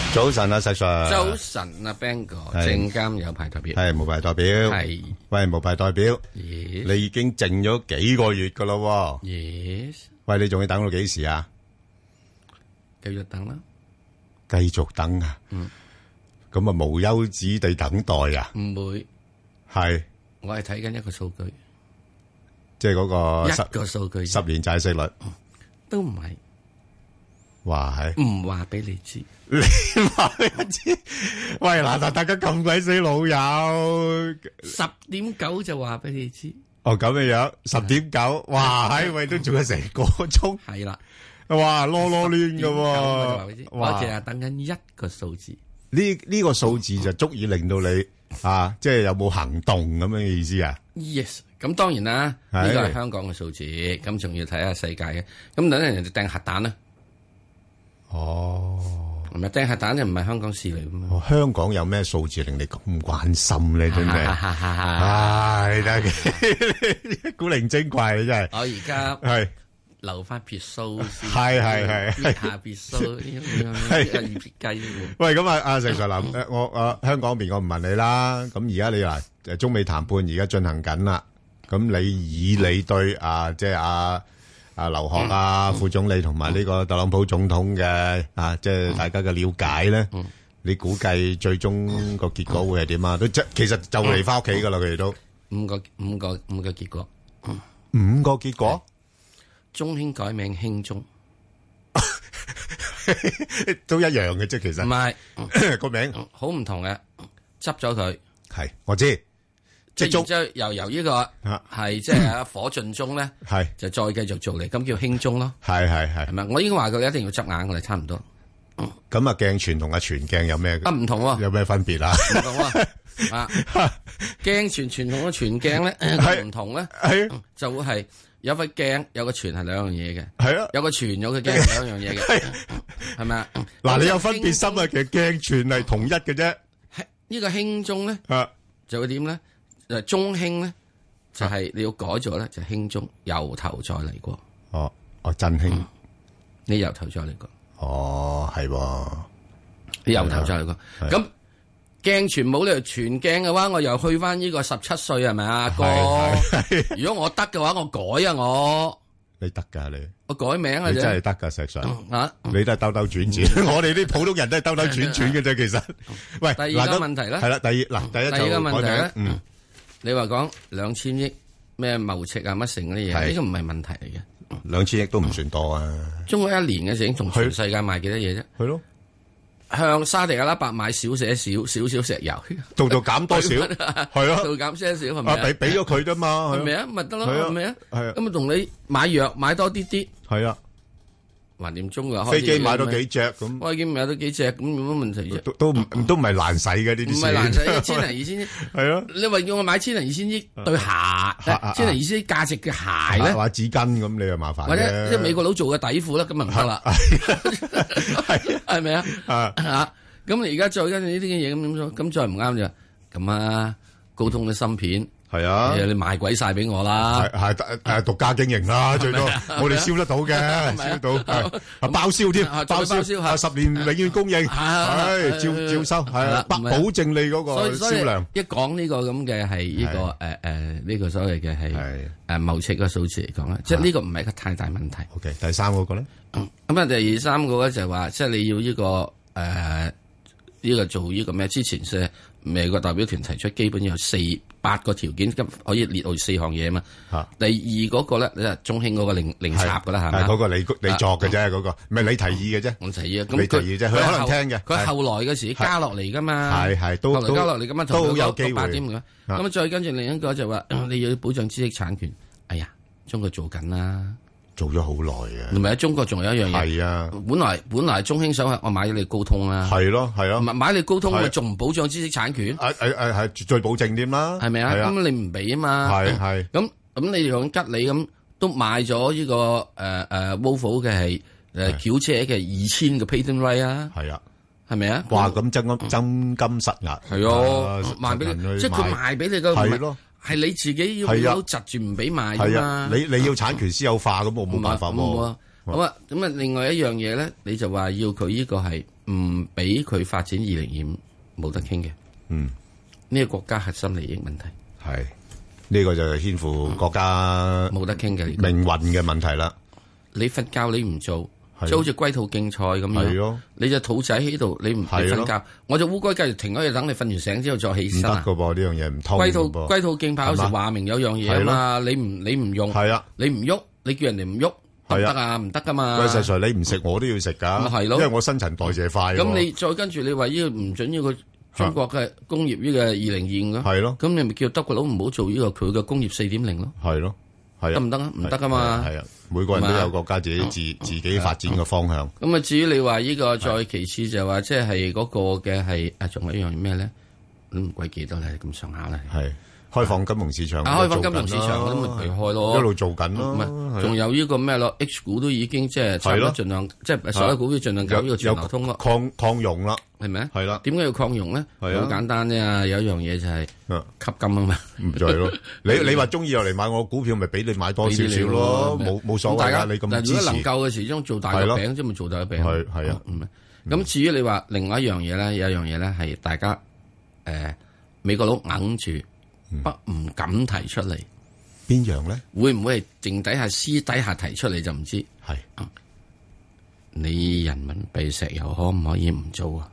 早晨啊，石 Sir。 早晨啊 ，Bang 哥，證監有牌代表係無牌代表。 係喂，無牌代表。 Yes。 你已經靜咗幾個月噶咯 ？Yes。 喂，你仲要等到幾時啊？ 繼續等啦。 繼續等啊？咁啊，無休止地等待啊？ 唔會。 係。 我係睇緊一個數據。 即係嗰個一個數據。 10年債息率。 都唔係。 話係。 唔話俾你知。 你話俾我知？喂，嗱，大家咁鬼死老友。 10.9就話俾你知。 哦，咁嘅樣，10.9，哇，喺喂都做咗成個鐘。 係啦。 哇，囉囉攣噶喎。 我淨係等緊一個數字。 呢個數字就足以令到你啊，即係有冇行動咁樣嘅意思啊 ？Yes， 咁當然啦，呢個係香港嘅數字，咁仲要睇下世界嘅。咁等陣人哋掟核彈啦。 哦， 唔係掟核彈就唔係香港事嚟噶嘛。 香港有咩數字令你咁關心咧？真係，唉，真係古靈精怪真係。 我而家係。 留翻別墅先， 係下別墅係雞。 喂，咁啊，阿石 Sir 嗱，我香港邊我唔問你啦。咁而家你話中美談判而家進行緊啦。咁你對即係阿劉鶴啊副總理同埋呢個特朗普總統嘅即係大家嘅了解咧，你估計最終個結果會係點啊？都其實就嚟翻屋企噶啦，佢哋都五個結果 ，5個結果。 中興改名興中， 都一樣嘅啫，其實唔係個名好唔同嘅，執咗佢係我知， 即係由呢個係即係火盡中咧，係就再繼續做嚟，咁叫興中咯，係咪？我已經話佢一定要執硬，我哋差唔多。 咁啊，鏡泉同阿全鏡有咩唔同喎？ 有咩分別啊？ 唔同啊！鏡泉同個全鏡咧唔同咧，就會係。有塊鏡有個傳係兩樣嘢嘅，係啊，有個傳有個鏡係兩樣嘢嘅，係咪啊？ 嗱，你有分別心啊，其實鏡傳係同一嘅啫。 呢個興中咧，就會點咧？就中興咧，就係你要改咗咧，就興中由頭再嚟過。 哦，振興， 你由頭再嚟過。 哦，係， 你由頭再嚟過。咁鏡傳冇理由全鏡嘅話，我又去翻呢個17歲係咪啊哥？如果我得嘅話，我改啊我。 你得噶你？我改名啊！ 你真係得噶石 Sir 你都係兜兜轉轉，我哋啲普通人都係兜兜轉轉嘅啫。其實，喂， 第二個問題咧， 係啦，第一個問題咧，你話講2000億咩貿赤啊乜成嗰啲嘢，呢個唔係問題嚟嘅。 2000億都唔算多啊。 中國一年嘅時，同全世界賣幾多嘢啫？ 係咯。 向沙地阿拉伯買少石油， 度減多少，係啊， 度減些少係咪啊？ 俾咗佢啫嘛， 係咪啊？咪得咯，係咪啊？係啊，咁啊同你買藥買多啲， 係啊， 橫掂中啊， 飛機買多幾隻咁， 飛機買多幾隻咁有乜問題啫？ 都唔係難使嘅呢啲， 唔係難使，1000零2000億， 係咯。 你話叫我買1000零2000億對鞋，1000零2000億價值嘅鞋咧， 或者紙巾咁，你又麻煩。 或者即係美國佬做嘅底褲啦，咁啊唔得啦，係咪啊？咁你而家再跟住呢啲嘅嘢咁點做？咁再唔啱就咁啊！高通嘅芯片係啊， 你賣鬼晒俾我啦， 係獨家經營啦，最多我哋燒得到嘅，燒得到，包銷添，包銷10年永遠供應，係照收，係保證你嗰個銷量。 一講呢個咁嘅係呢個呢個所謂嘅係貿赤嘅數字嚟講咧，即係呢個唔係一個太大問題。 OK，第三個咧， 咁啊第三個咧就係話，即係你要呢個呢個做呢個咩？之前是美國代表團提出，基本有8個條件，咁可以列到4項嘢嘛。第二嗰個咧，你係中興嗰個零插噶啦，係咪？ 嗰個你作嘅啫，嗰個唔係你提議嘅啫。 我提議啊，咁你提議啫，佢可能聽嘅。 佢後來嘅時加落嚟噶嘛， 係都加落嚟噶嘛， 都好有機會。 8點咁啊，再跟住另一個就話你要保障知識產權。哎呀，中國做緊啦。 做咗好耐嘅， 唔係喺中國仲有一樣嘢， 係啊， 本來中興想我買咗你高通啦， 係咯， 買你高通咪仲唔保障知識產權？ 係絕對保證添啦， 係咪啊？咁你唔俾啊嘛， 係咁你用吉利咁都買咗呢個Volvo 嘅係轎車嘅2000個 patent right 啊， 係啊， 係咪啊？ 哇，咁真金實壓， 係啊，賣俾你，即係佢賣俾你嘅，係咯。係你自己要窒住唔俾賣㗎嘛？ 你要產權私有化咁，我冇辦法喎。 好啊，咁啊，另外一樣嘢咧，你就話要佢呢個係唔俾佢發展2025冇得傾嘅。呢個國家核心利益問題係呢個就係牽乎國家冇得傾嘅命運嘅問題啦。 你瞓覺你唔做，即係好似龜兔競賽咁樣。你隻兔仔喺度，你唔瞓覺，我隻烏龜繼續停喺度等你瞓完醒之後再起身啊！ 唔得噶噃，呢樣嘢唔通。 龜兔競跑有時話明有樣嘢啊嘛，你唔用，你唔喐，你叫人哋唔喐。得唔得啊？唔得噶嘛！ 喂，實在你唔食我都要食噶， 係咯， 因為我新陳代謝快。 咁你再跟住你話呢個唔准呢個中國嘅工業呢個2025咯， 係咯， 咁你咪叫德國佬唔好做呢個佢嘅工業4.0咯， 係咯，係得唔得啊？唔得噶嘛， 係啊，每個人都有國家自己發展嘅方向。 咁啊，至於你話呢個再其次就話即係嗰個嘅係啊，仲有一樣咩咧？都唔鬼記得咧，咁上下咧。係。 開放金融市場， 開放金融市場我都咪佢開咯， 一路做緊咯。 仲有呢個咩咯 ？H 股都已經即係差唔多盡量，即係所有股票盡量搞呢個全流通咯。 擴容啦， 係咪啊？ 係啦。 點解要擴容咧？好簡單啫，有一樣嘢就係吸金啊嘛。 唔再咯。你話中意又嚟買我股票，咪俾你買多少少咯，冇所謂㗎。你咁支持。 如果能夠嘅時將做大個餅，即係咪做大個餅？ 係啊。 咁至於你話另外一樣嘢咧，有一樣嘢咧係大家美國佬硬住。唔敢提出嚟， 邊樣咧？ 會唔會係淨底下私底下提出嚟就唔知？ 係你人民幣石油可唔可以唔做啊？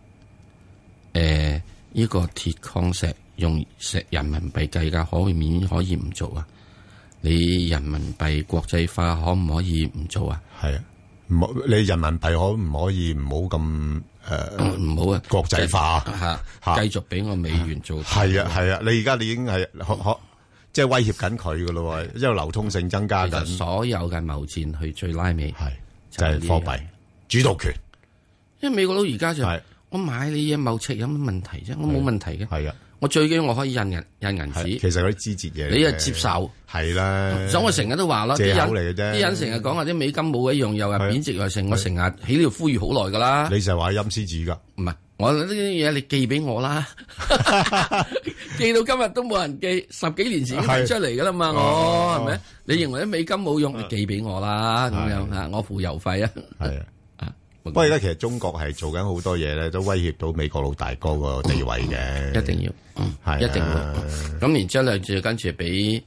呢個鐵礦石用人民幣計價可以唔做啊？你人民幣國際化可唔可以唔做啊？ 係啊，你人民幣可唔可以唔好咁？ 唔好啊！ 國際化繼續俾我美元做。 係啊，你而家你已經係即係威脅緊佢噶咯，因為流通性增加緊。 所有嘅貿戰去最拉尾就係貨幣主導權。 因為美國佬而家就我買你嘢貿赤有乜問題啫？我冇問題嘅。 係啊， 我最緊要我可以印銀紙。 其實嗰啲枝節嘢， 你又接受係啦。 所以我成日都話啦， 借口嚟嘅啫。 啲人成日講話啲美金冇一樣又係貶值又成，我成日喺呢度呼籲好耐噶啦。 你就係話陰司紙噶？ 唔係，我呢啲嘢你寄俾我啦，寄到今日都冇人寄，10幾年前已經提出嚟噶啦嘛，我係咪？你認為啲美金冇用，你寄俾我啦，咁樣啊，我付郵費啊。係啊。 不過而家其實中國係做緊好多嘢咧，都威脅到美國老大哥個地位嘅。 一定要，係一定會。咁然之後咧，就跟住俾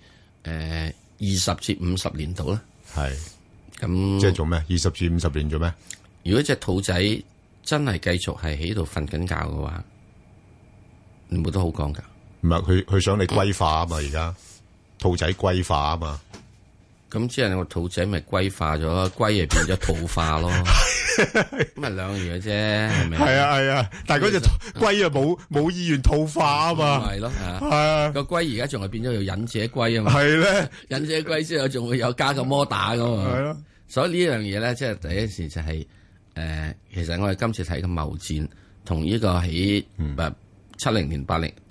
20至50年度啦。係。咁即係做咩？20至50年做咩？ 如果隻兔仔真係繼續係喺度瞓緊覺嘅話，你冇得好講噶。 唔係佢想你龜化啊嘛，而家兔仔龜化啊嘛。 咁即係個兔仔咪龜化咗，龜又變咗兔化咯。咁咪兩樣嘢啫，係咪？ 係啊，但係嗰隻龜啊冇意願兔化啊嘛。 係咯，係啊。個龜而家仲係變咗做忍者龜啊嘛。係咧，忍者龜之後仲會有加個摩打噶嘛。係咯。所以呢樣嘢咧，即係第一時就係其實我哋今次睇嘅貿戰同呢個喺70年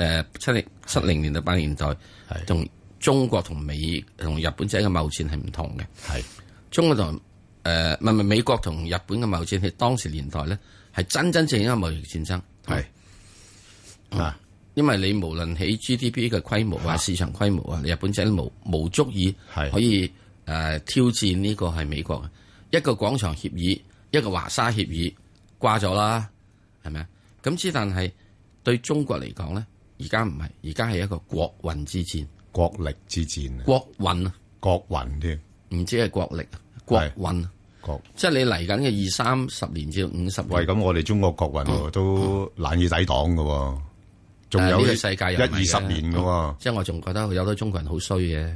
70年到80年代同中國同日本仔嘅貿戰係唔同嘅。係中國同唔係美國同日本嘅貿戰喺當時年代咧係真正嘅貿易戰爭。係因為你無論喺 GDP 嘅規模啊、市場規模啊，日本仔都無足以可以挑戰呢個係美國嘅一個廣場協議，一個華沙協議掛咗啦，係咪啊？咁之但係對中國嚟講咧，而家唔係，而家係一個國運之戰。 國力之戰， 國運啊， 國運添， 唔知係國力，國運，即係你嚟緊嘅20-30年至50年。 喂，咁我哋中國國運都難以抵擋㗎，仲有呢個世界10-20年㗎。 即係我仲覺得有好多中國人好衰嘅。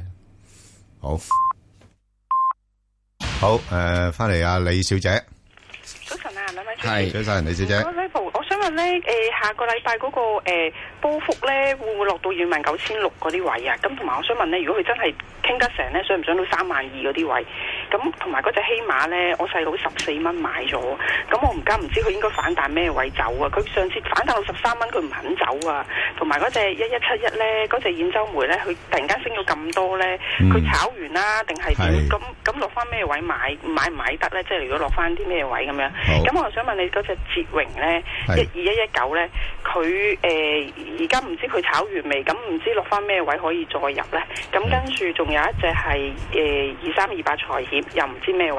好，翻嚟啊，李小姐。 早晨啊，兩位主持。 係，早晨，李小姐。 我想問咧，下個禮拜嗰個波幅咧，會唔會落到29,600嗰啲位啊？咁同埋我想問咧，如果佢真係傾得成咧，上唔上到32,000嗰啲位？咁同埋嗰隻希馬咧，我細佬14蚊買咗，咁我唔知佢應該反彈咩位走啊？佢上次反彈到13蚊，佢唔肯走啊。同埋嗰隻1171咧，嗰隻兗州煤咧，佢突然間升咗咁多咧，佢炒完啦定係點？咁落翻咩位買唔買得咧？即係如果落翻啲咩位咁樣？咁我想問你嗰隻捷榮咧，12119咧，佢而家唔知佢炒完未？咁唔知落翻咩位可以再入咧？咁跟住仲有一隻係2328財險，又唔知咩位入。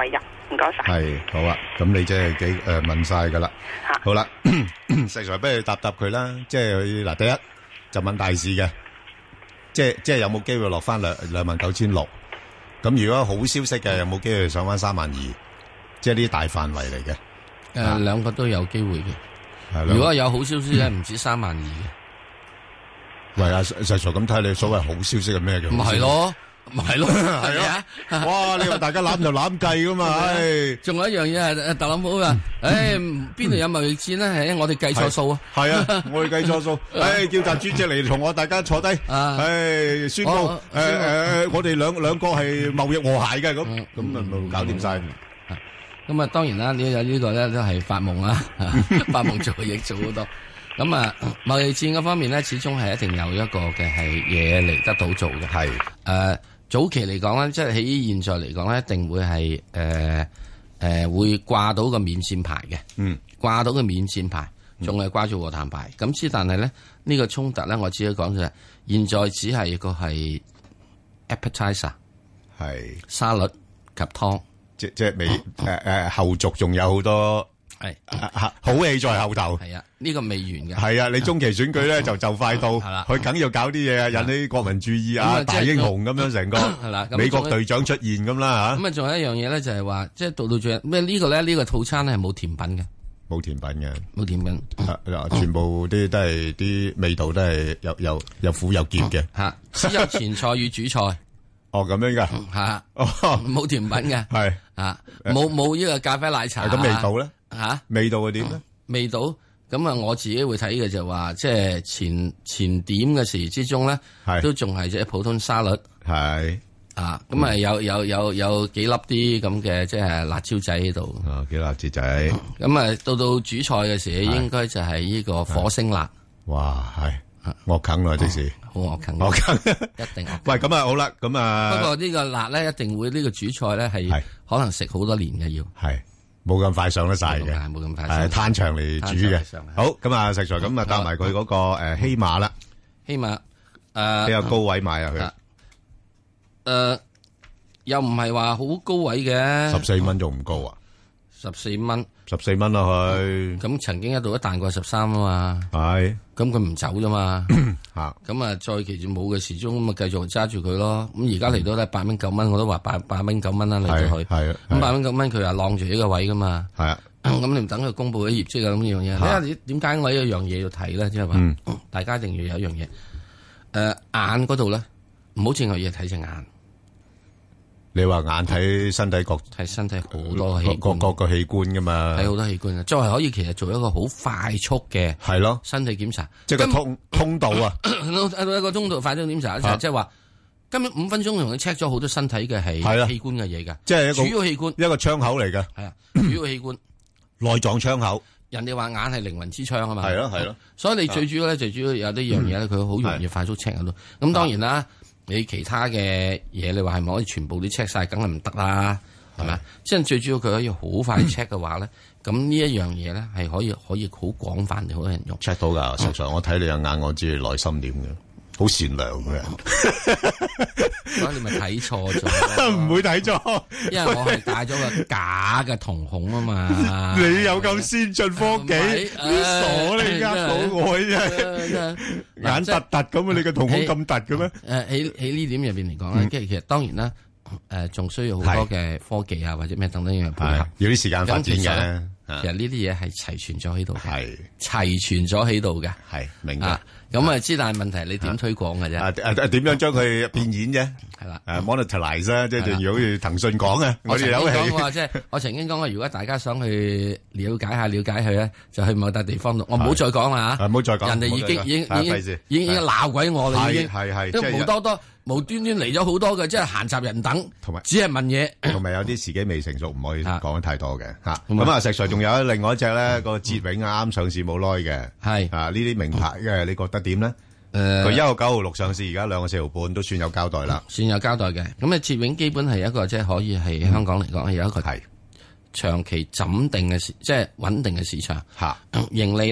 唔該晒。 係好啊，咁你即係問晒㗎啦。好啦，石 Sir 不如答佢啦。即係佢嗱，第一就問大市嘅，即係有冇機會落翻29600。咁如果好消息嘅，有冇機會上翻32000？即係呢啲大範圍嚟嘅。 兩個都有機會嘅。 係如果有好消息咧，唔止32000嘅。 喂，阿石 Sir 咁睇你所謂好消息係咩嘅？ 唔係咯。咪係咯，係啊！哇，你話大家攬就攬計噶嘛？唉， 仲有一樣嘢係特朗普啊！唉，邊度有貿易戰咧？係我哋計錯數啊！ 係啊，我哋計錯數。唉，叫習主席嚟同我大家坐低。唉，宣布我哋兩個係貿易和諧嘅咁咪搞掂晒。 咁啊，當然啦，呢個咧都係發夢啦，發夢做亦做好多。咁啊，貿易戰嗰方面咧，始終係一定有一個嘅係嘢嚟得到做嘅。係早期嚟講咧，即係喺現在嚟講咧，一定會係會掛到個免戰牌嘅。掛到個免戰牌，仲係掛住和談牌。咁之但係咧，呢個衝突咧，我只可以講就係現在只係個係 appetizer， 係沙律及湯，即係未後續仲有好多。係好戲在後頭，係啊，呢個未完嘅。係啊，你中期選舉咧就快到，佢梗要搞啲嘢啊，引起國民注意啊，大英雄咁樣成個係啦，美國隊長出現咁啦吓。咁啊，仲有一樣嘢咧，就係話，即係到最後咩呢個咧？呢個套餐咧係冇甜品嘅，冇甜品嘅，冇甜品，全部啲都係啲味道都係有苦有澀嘅吓，只有前菜與主菜。哦，咁樣噶吓，冇甜品嘅係啊，冇呢個咖啡奶茶。咁味道咧？吓，味道係點咧？味道咁啊，我自己會睇嘅就話，即係前點嘅時之中咧，都仲係即係普通沙律，係啊，咁啊有幾粒啲咁嘅即係辣椒仔喺度，幾辣椒仔。咁啊到主菜嘅時，應該就係呢個火星辣。哇，係惡啃啦，即是好惡啃，惡啃一定。喂，咁啊好啦，咁啊不過呢個辣咧，一定會呢個主菜咧係可能食好多年嘅要係。冇咁快上得晒嘅，冇咁快，係攤長嚟煮嘅。好，咁啊，石 Sir，咁啊，搭埋佢嗰個希馬啦，希馬比較高位買啊佢，又唔係話好高位嘅，14蚊仲唔高啊？14蚊啦佢，咁曾經一度一彈過13啊嘛，係，咁佢唔走啫嘛，吓，咁啊再其住冇嘅時鐘咁啊繼續揸住佢咯，咁而家嚟到咧8蚊9蚊，我都話8蚊9蚊啦嚟到去，係啊，咁8蚊9蚊佢話晾住呢個位噶嘛，係啊，咁你唔等佢公布啲業績啊咁呢樣嘢，睇下點解我有一樣嘢要睇咧，即係話，大家一定要有一樣嘢，眼嗰度咧，唔好淨係嘢睇隻眼。你話眼睇身體睇身體好多器官，各個器官噶嘛，睇好多器官啊，作為可以其實做一個好快速嘅係咯身體檢查，即係個通道啊，一個通道快速檢查，即係話根本5分鐘同佢 check 咗好多身體嘅係器官嘅嘢噶，即係主要器官一個窗口嚟嘅，係啊，主要器官內臟窗口，人哋話眼係靈魂之窗啊嘛，係咯係咯，所以你最主要咧，最主要有呢樣嘢咧，佢好容易快速 check 到，咁當然啦。你其他嘅嘢，你話係咪可以全部都 check 晒？梗係唔得啦，係咪？即係最主要佢可以好快 check 嘅話咧，咁呢一樣嘢咧係可以好廣泛地好多人用 check 到㗎。實在我睇你嘅眼，我知你內心點嘅，好善良嘅人。所以你咪睇錯咗，唔會睇錯，因為我係戴咗個假嘅瞳孔啊嘛。你有咁先進科技，你傻你呃到我啫，眼突突咁啊！你個瞳孔咁突嘅咩？喺呢點入邊嚟講咧，即係其實當然啦，仲需要好多嘅科技啊，或者咩等等樣配合，要啲時間發展嘅。其實呢啲嘢係齊全咗喺度，係齊全咗喺度嘅，係明白。咁啊，之但係問題你點推廣嘅啫？點樣將佢變現啫？係啦，monetize 啦，即係如果好似騰訊講嘅，我哋有講即係我曾經講過，如果大家想去了解佢咧，就去某笪地方度。我唔好再講啦吓，唔好再講。人哋已經鬧鬼我啦，已經係都無端端嚟咗好多嘅，即係閒雜人等，同埋只係問嘢，同埋有啲時機未成熟，唔可以講得太多嘅吓。咁啊，石 Sir 仲有另外一隻咧，個捷永啱上市冇耐嘅，係啊呢啲名牌嘅，你覺得點咧？佢1個9號6上市，而家2個4毫半，都算有交代啦。算有交代嘅。咁啊，捷永基本係一個即係可以喺香港嚟講係有一個長期穩定嘅市場。吓盈利咧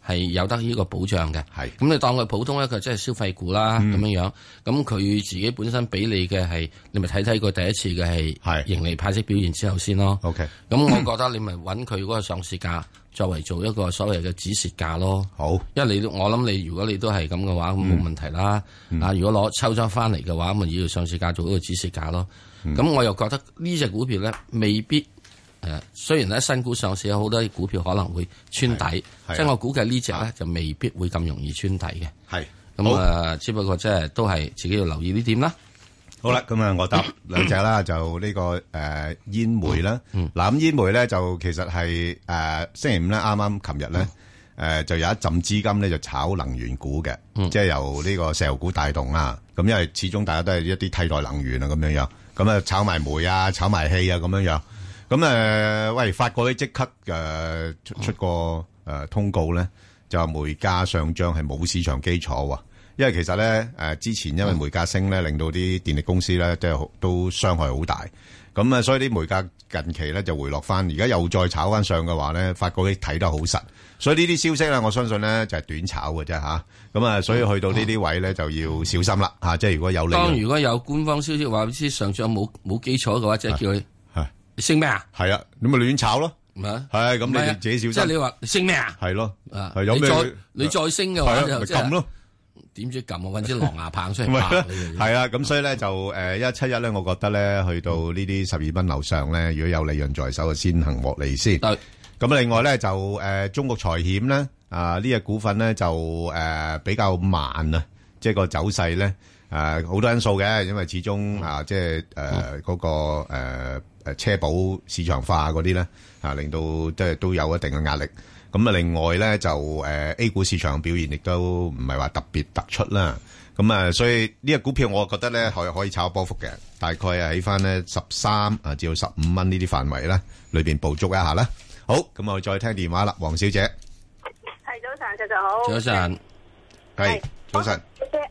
係有得呢個保障嘅。 係咁你當佢普通一個即係消費股啦，咁樣樣。咁佢自己本身俾你嘅係，你咪睇睇佢第一次嘅係盈利派息表現之後先咯。 OK。 咁我覺得你咪揾佢嗰個上市價作為做一個所謂嘅止蝕價咯。 好， 因為我諗你如果你都係咁嘅話，咁冇問題啦。如果抽咗翻嚟嘅話，咁咪要上市價做一個止蝕價咯。咁我又覺得呢隻股票咧未必。雖然咧新股上市有好多股票可能會穿底，即係我估計呢隻咧就未必會咁容易穿底嘅。 係咁只不過即係都係自己要留意呢點啦。 好啦，咁啊，我答兩隻啦，就呢個煙煤啦。嗱，咁煙煤咧就其實係星期五咧，啱啱琴日咧就有一陣資金咧就炒能源股嘅，即係由呢個石油股帶動啦。咁因為始終大家都係一啲替代能源啊咁樣樣，咁啊炒埋煤啊，炒埋氣啊咁樣樣。咁喂，發覺咧即刻出個通告咧，就話煤價上漲係冇市場基礎喎。因為其實咧之前因為煤價升咧，令到啲電力公司咧即係都傷害好大。咁所以啲煤價近期咧就回落翻，而家又再炒翻上嘅話咧，發覺咧睇得好實。所以呢啲消息咧，我相信咧就係短炒嘅啫嚇。咁所以去到呢啲位咧就要小心啦嚇。即係如果有利潤， 如果有官方消息話知上漲冇基礎嘅話，即係叫佢。升咩啊？ 係啊，你咪亂炒咯。係咁，你自己小心。 即係你話升咩啊？ 係咯。 有咩？你再升嘅話就撳咯。 點知撳啊？搵支狼牙棒出嚟拍你。 係啊，咁所以咧就171咧，我覺得咧去到呢啲12蚊樓上咧，如果有利潤在手，就先行獲利先。咁另外咧就中國財險咧呢隻股份咧就比較慢啊，即係個走勢咧好多因素嘅，因為始終即係嗰個車保市場化嗰啲咧令到即係都有一定嘅壓力。咁另外咧就A 股市場嘅表現亦都唔係話特別突出啦。咁所以呢個股票我覺得咧可以炒波幅嘅，大概係喺翻咧13至到15蚊呢啲範圍咧裏邊捕捉一下啦。好，咁我再聽電話啦，黃小姐。 係早晨，早晨好。 早晨， 係早晨。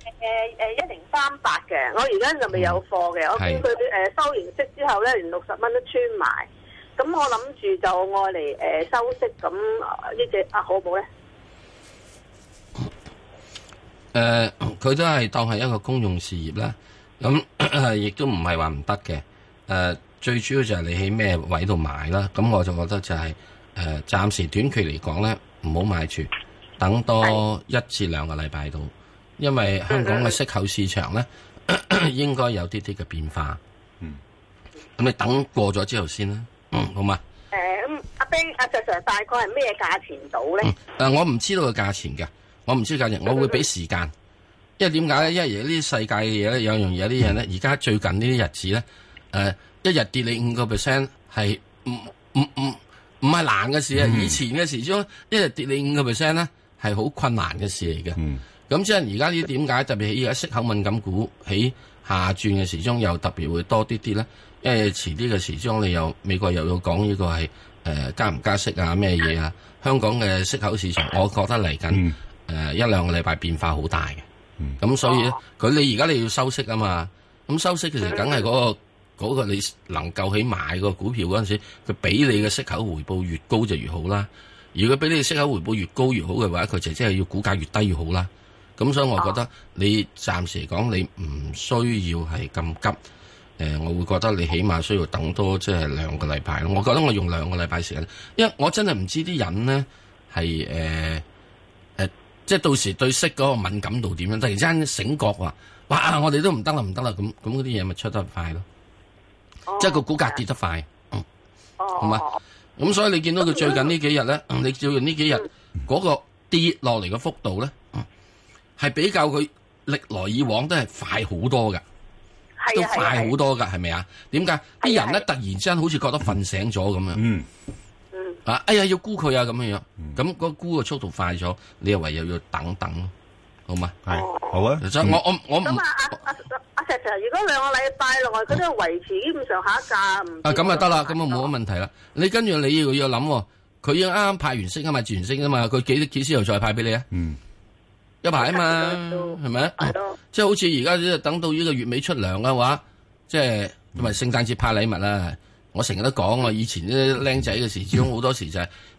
1038嘅，我而家就未有貨嘅。我見佢收完息之後咧，連60蚊都穿埋。咁我諗住就愛嚟收息，咁呢隻好唔好咧？ 佢都係當係一個公用事業啦。咁亦都唔係話唔得嘅。最主要就係你喺咩位度買啦。咁我就覺得就係暫時短期嚟講咧，唔好買住，等多1至2個禮拜到。因為香港嘅息口市場咧，應該有啲啲嘅變化。咁你等過咗之後先啦。好嘛？ 阿 Ben 阿 Sir 大概係咩價錢到咧？ 我唔知道個價錢嘅，我唔知價錢，我會俾時間。因為點解咧？因為呢啲世界嘅嘢咧，有樣嘢啲嘢咧，而家最近呢啲日子咧，一日跌你5%係唔係難嘅事啊！以前嘅時鐘一日跌你5%咧，係好困難嘅事嚟嘅。咁即係而家呢啲點解特別係而家息口敏感股喺下轉嘅時鐘又特別會多啲啲咧？因為遲啲嘅時鐘你又美國又要講呢個係加唔加息啊咩嘢啊？香港嘅息口市場，我覺得嚟緊1-2個禮拜變化好大嘅。咁所以咧，你而家你要收息啊嘛。咁收息其實梗係嗰個你能夠起買個股票嗰陣時，佢俾你嘅息口回報越高就越好啦。如果俾你嘅息口回報越高越好嘅話，佢就即係要股價越低越好啦。咁所以我覺得你暫時嚟講，你唔需要係咁急。我會覺得你起碼需要等多即係2個禮拜咯。我覺得我用2個禮拜時間，因為我真係唔知啲人咧係即係到時對息嗰個敏感度點樣，突然之間醒覺話，哇！我哋都唔得啦，唔得啦，咁嗰啲嘢咪出得快咯。即係個股價跌得快，好嘛？咁所以你見到佢最近呢幾日咧，你最近呢幾日嗰個跌落嚟嘅幅度咧，係比較佢歷來以往都係快好多㗎。都快好多噶，係咪啊？點解啲人咧突然之間好似覺得瞓醒咗咁樣？哎呀，要沽佢啊咁樣樣，咁個沽嘅速度快咗，你又唯有要等等咯，好嘛？ 係好啊。 我咁阿石 Sir，如果2個禮拜內佢都維持基本上下一價唔咁啊得啦，咁啊冇乜問題啦。你跟住你要諗，佢要啱啱派完息啊嘛，自完息啊嘛，佢幾時又再派俾你啊？一排啊嘛，係咪啊？即係好似而家等到呢個月尾出糧嘅話，即係同埋聖誕節派禮物啦。我成日都講，我以前啲僆仔嘅時，始終好多時就係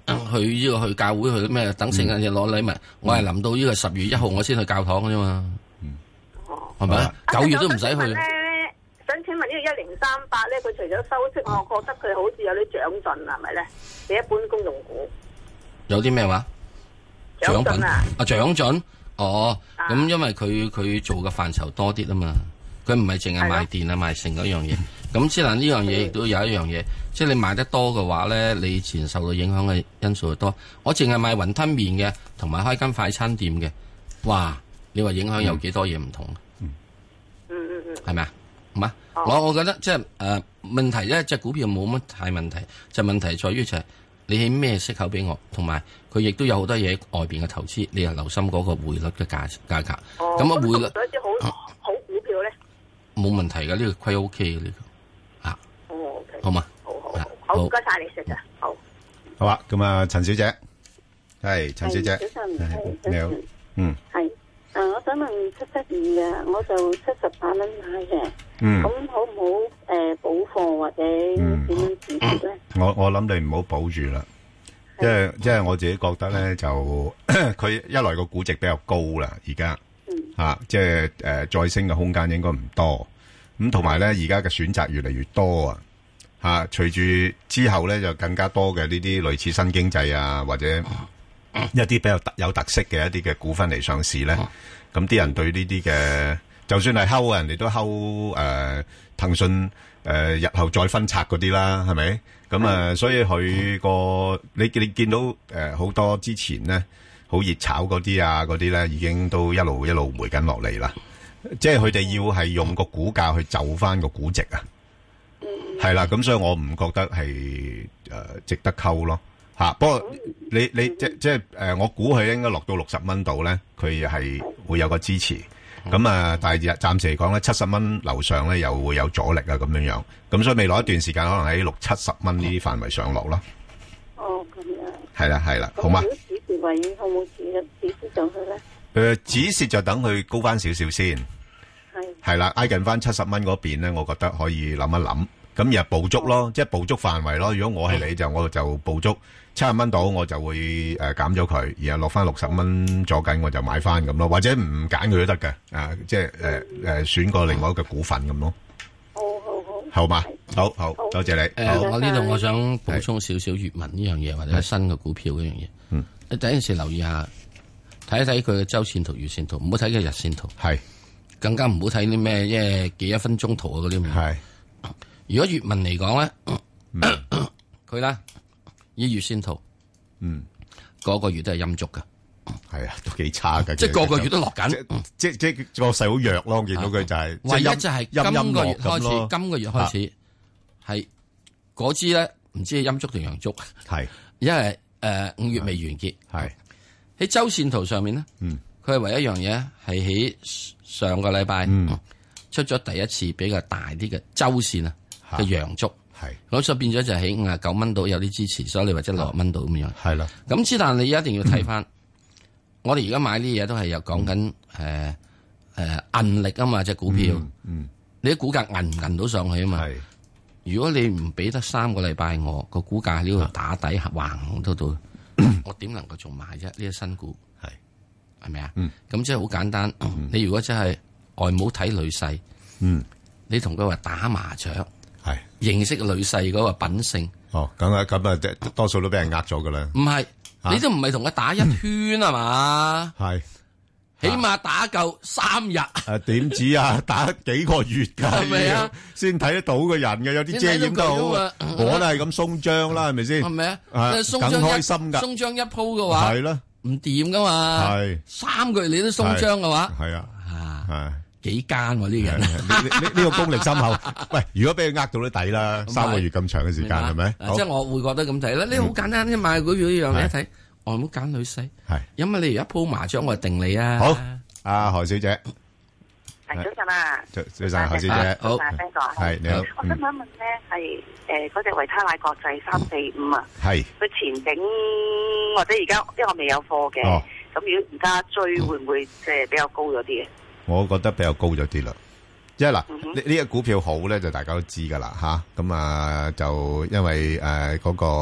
去教會去咩？等聖誕節攞禮物，我係臨到呢個10月1號我先去教堂嘅啫嘛。係咪？9月都唔使去。 想請問呢個1038咧，佢除咗收息，我覺得佢好似有啲長進，係咪咧？你一般公用股有啲咩話？ 長進啊！ 長進哦，咁因為佢做嘅範疇多啲啊嘛，佢唔係淨係賣電啊賣成嗰樣嘢。咁之但呢樣嘢亦都有一樣嘢，即係你賣得多嘅話咧，你自然受到影響嘅因素就多。我淨係賣雲吞麵嘅，同埋開間快餐店嘅，哇！你話影響有幾多嘢唔同？係咪啊？唔啊？我覺得即係問題咧，隻股票冇乜太問題，就問題在於就係你起咩息口俾我，同埋佢亦都有好多嘢外邊嘅投資，你又留心嗰個匯率嘅價格。咁啊匯率有啲好股票咧， 冇問題嘅，呢個虧 OK 嘅呢個啊。 OK， 好嘛？ 好，唔該晒你食啊， 好啊。咁啊，陳小姐，係陳小姐， 早晨， 你好， 係。我想問772嘅，我就78蚊買嘅，咁好唔好補貨或者點樣止蝕咧？ 我諗你唔好保住啦，即係我自己覺得咧，就佢一來個估值比較高啦，而家即係再升嘅空間應該唔多，咁同埋咧而家嘅選擇越嚟越多啊，隨住之後咧就更加多嘅呢啲類似新經濟啊或者一啲比較有特色嘅一啲嘅股份嚟上市咧，咁啲人對呢啲嘅，就算係睺人哋都睺騰訊日後再分拆嗰啲啦，係咪？咁所以佢個你見到好多之前咧好熱炒嗰啲啊嗰啲咧，已經都一路回緊落嚟啦。即係佢哋要係用個股價去就翻個估值啊，係啦。咁所以我唔覺得係值得溝咯。不過你即係我估佢應該落到60蚊度咧，佢係會有個支持。咁但係暫時嚟講咧，70蚊樓上咧又會有阻力啊，咁樣。咁所以未來一段時間可能喺60-70蚊呢啲範圍上落咯。 哦，咁樣。 係啦，好嘛？ 如果止蝕位可唔可以止蝕上去咧？ 止蝕就等佢高翻少少先。係啦，挨近翻70蚊嗰邊咧，我覺得可以諗一諗。咁又捕捉咯，即係捕捉範圍咯。如果我係你我就捕捉70蚊到，我就會減咗佢，然後落翻60蚊左緊，我就買翻咁咯。或者唔揀佢都得嘅，即係選個另外一個股份咁咯。好嘛，好，多謝你。 我呢度我想補充少少粵文呢樣嘢，或者新嘅股票嗰樣嘢。你第一件事留意下，睇一睇佢嘅周線圖、月線圖，唔好睇佢日線圖。係，更加唔好睇啲咩，即係幾一分鐘圖啊嗰啲。係。如果粵文嚟講咧，佢咧以月線圖，個月都係陰燭噶，係啊，都幾差噶，即係個月都落緊，即個勢好弱咯。我見到佢就係，唯一就係今個月開始係嗰支咧，唔知係陰燭定陽燭，係，因為5月未完結，係喺周線圖上面咧，佢係唯一一樣嘢係喺上個禮拜出咗第一次比較大啲嘅周線啊。嘅陽燭係，咁所以變咗就喺59蚊度有啲支持，所以你或者60蚊度咁樣係啦。咁之但你一定要睇翻，我哋而家買啲嘢都係有講緊韌力啊嘛，隻股票，你啲股價韌唔韌到上去啊嘛。如果你唔俾得3個禮拜我個股價喺呢度打底橫到，我點能夠仲買啫？呢啲新股係咪啊？咁即係好簡單。你如果真係外母睇女婿，你同佢話打麻雀。係認識女婿嗰個品性哦，咁多數都俾人呃咗噶啦。唔係，你都唔係同佢打一圈啊嘛？係，起碼打夠3日。點止啊？打幾個月噶，係咪啊？先睇得到個人嘅，有啲遮掩都好。我都係咁鬆張啦，係咪先？係咪啊？更開心噶，鬆張一鋪嘅話係咯，唔掂噶嘛。係3個月你都鬆張嘅話，係啊，係。幾奸喎呢人？呢個功力深厚。喂，如果俾佢呃到都抵啦，3個月咁長嘅時間係咪？即係我會覺得咁睇啦。呢好簡單，一買股票呢樣，你一睇，我唔好揀女婿。係，因為你而家鋪麻將，我就定你啊。好，阿何小姐。係早晨啊。早晨，何小姐。好。係你好。我想問一問咧，係嗰隻維他奶國際345啊。係。佢前景或者而家，因為我未有貨嘅。哦。咁如果而家追，會唔會即係比較高咗啲嘅？我覺得比較高咗啲啦，即係嗱，呢個股票好咧，就大家都知噶啦吓，咁就因為嗰個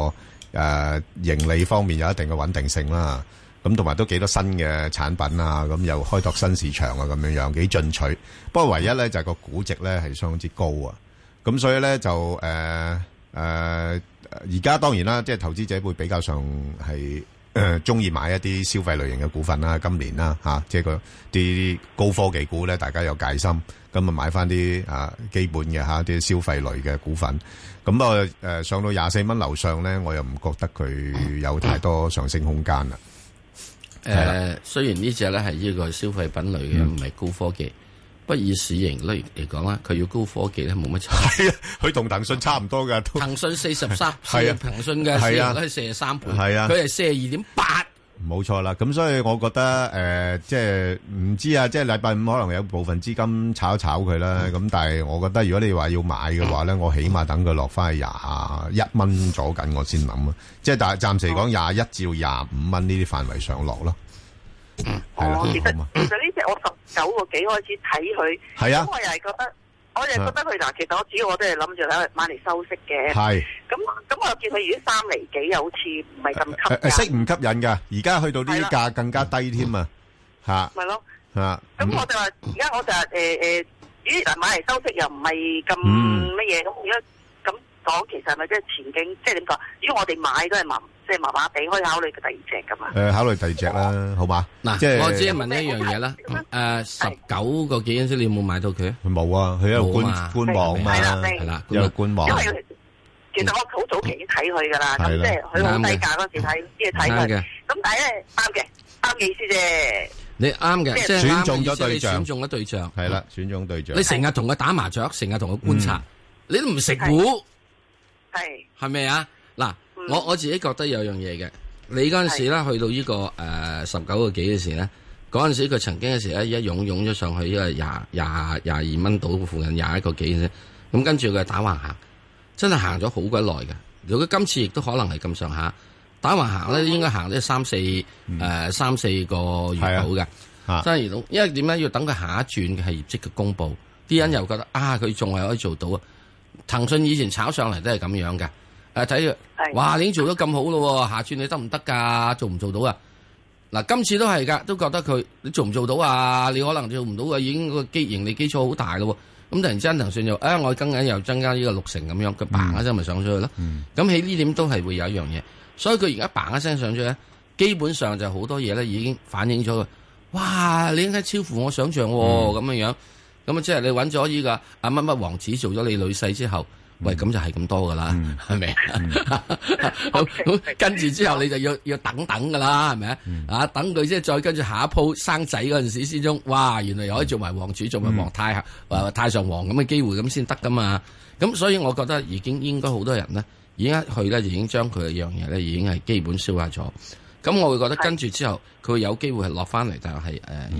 盈利方面有一定嘅穩定性啦。咁同埋都幾多新嘅產品啊，咁又開拓新市場啊，咁樣樣幾進取。不過唯一咧就係個估值咧係相當之高啊。咁所以咧就而家當然啦，即係投資者會比較上係中意買一啲消費類型嘅股份啦。今年啦即係啲高科技股咧，大家有戒心，咁啊買翻啲基本嘅啲消費類嘅股份。咁上到24蚊樓上咧，我又唔覺得佢有太多上升空間啦。 雖然呢隻咧係呢個消費品類嘅，唔係高科技，不以市盈率嚟講啦，佢要高科技咧冇乜差。 係啊，佢同騰訊差唔多噶。 騰訊43，係啊，騰訊嘅市盈率係43倍，係啊，佢係42.8。 冇錯啦，咁所以我覺得即係唔知啊，即係禮拜五可能有部分資金炒一炒佢啦。咁但係我覺得如果你話要買嘅話咧，我起碼等佢落翻去21蚊左緊，我先諗啊。即係但係暫時嚟講21至到25蚊呢啲範圍上落咯。係啦， 其實呢隻我19個幾開始睇佢， 係啊， 我又係覺得佢嗱，其實主要我都係諗住喺度買嚟收息嘅。 係。 咁我又見佢如果3厘幾，又好似唔係咁吸引。 息唔吸引㗎？而家去到呢啲價更加低添啊！嚇。 咪咯。 嚇。 咁我就話，而家我就話咦嗱，買嚟收息又唔係咁乜嘢，咁而家咁講，其實係咪即係前景？即係點講？如果我哋買都係麻麻地，可以考慮第二隻㗎嘛？ 考慮第二隻啦，好嘛？ 嗱，即係我只係問一樣嘢啦。19個幾嗰陣時，你有冇買到佢？ 冇啊，佢喺度觀望嘛，係啦，有觀望。 因為其實我好早期已經睇佢㗎啦，咁即係佢好低價嗰時睇，先睇佢。咁但係咧啱嘅意思啫。 你啱嘅，即係選中咗對象， 選中咗對象， 係啦，選中對象。 你成日同佢打麻雀，成日同佢觀察，你都唔食股，係咪啊？嗱，我自己覺得有樣嘢嘅，你嗰陣時咧去到呢個19個幾嘅時咧，嗰陣時佢曾經嘅時咧一湧咗上去，呢個22蚊到附近21個幾啫，咁跟住佢打橫行，真係行咗好鬼耐嘅。如果今次亦都可能係咁上下。打橫行咧，應該行咗3、4個月到嘅，真係到。因為點解要等佢下一轉嘅係業績嘅公佈？啲人又覺得佢仲係可以做到啊！騰訊以前炒上嚟都係咁樣嘅，睇佢，哇！你已經做得咁好咯，下轉你得唔得㗎？做唔做到啊？嗱，今次都係㗎，都覺得佢你做唔做到啊？你可能做唔到啊，已經個盈利基礎好大咯。咁突然之間騰訊又我跟緊又增加呢個60%咁樣，佢嘭一聲咪上咗去咯。咁喺呢點都係會有一樣嘢。所以佢而家嘭一聲上咗咧，基本上就好多嘢咧已經反映咗佢。哇！你應該超乎我想象喎，咁樣樣。咁啊，即係你揾咗呢個乜乜王子做咗你女婿之後，喂，咁就係咁多噶啦，係咪？咁跟住之後你就要等噶啦，係咪啊？等佢即係再跟住下一鋪生仔嗰陣時之中，哇！原來又可以做埋王儲，做埋皇太太上皇咁嘅機會咁先得噶嘛。咁所以我覺得已經應該好多人咧。而家去咧，已經將佢嘅樣嘢咧，已經係基本消化咗。咁我會覺得跟住之後，佢會有機會係落翻嚟，就係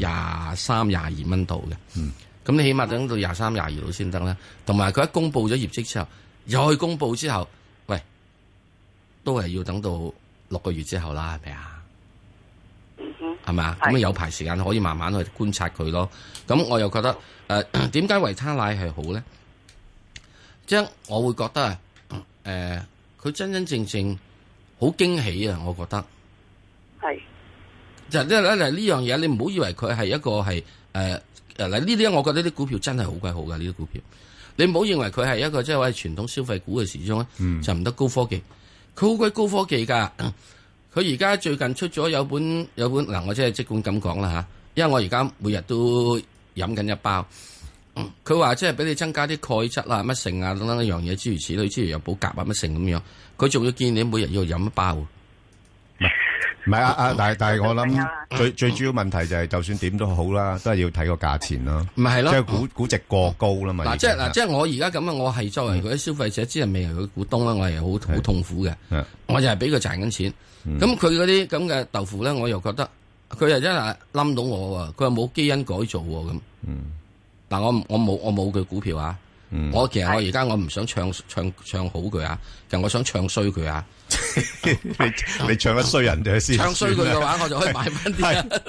23、22蚊度嘅。咁你起碼等到23、22度先得啦。同埋佢一公佈咗業績之後，又去公佈之後，喂，都係要等到6個月之後啦，係咪啊？係咪啊？咁有排時間可以慢慢去觀察佢咯。咁我又覺得點解維他奶係好咧？即係我會覺得佢真真正正好驚喜啊！我覺得係就呢樣嘢，你唔好以為佢係一個係嗱呢啲，我覺得啲股票真係好鬼好噶呢啲股票。你唔好認為佢係一個即係話傳統消費股嘅時鐘咧，就唔得高科技。佢好鬼高科技噶。佢而家最近出咗有本嗱，我即管咁講啦吓，因為我而家每日都飲緊一包。佢話即係俾你增加啲鈣質啊、乜剩啊等等一樣嘢，諸如此類，之餘有補鉀啊乜剩咁樣。佢仲要建議你每日要飲一包。 唔係但係我諗最主要問題就係，就算點都好啦，都係要睇個價錢咯。唔係咯，即係估值過高啦嘛。 即係我而家咁啊，我係作為佢啲消費者，之係未係佢股東啦，我係好痛苦嘅。我就係俾佢賺緊錢。咁佢嗰啲咁嘅豆腐咧，我又覺得佢又真係冧到我喎。佢又冇基因改造喎咁。嗱，我冇佢股票啊！我其實我而家我唔想唱好佢啊，其實我想唱衰佢啊！ 你唱得衰人哋先， 唱衰佢嘅話，我就可以買翻啲。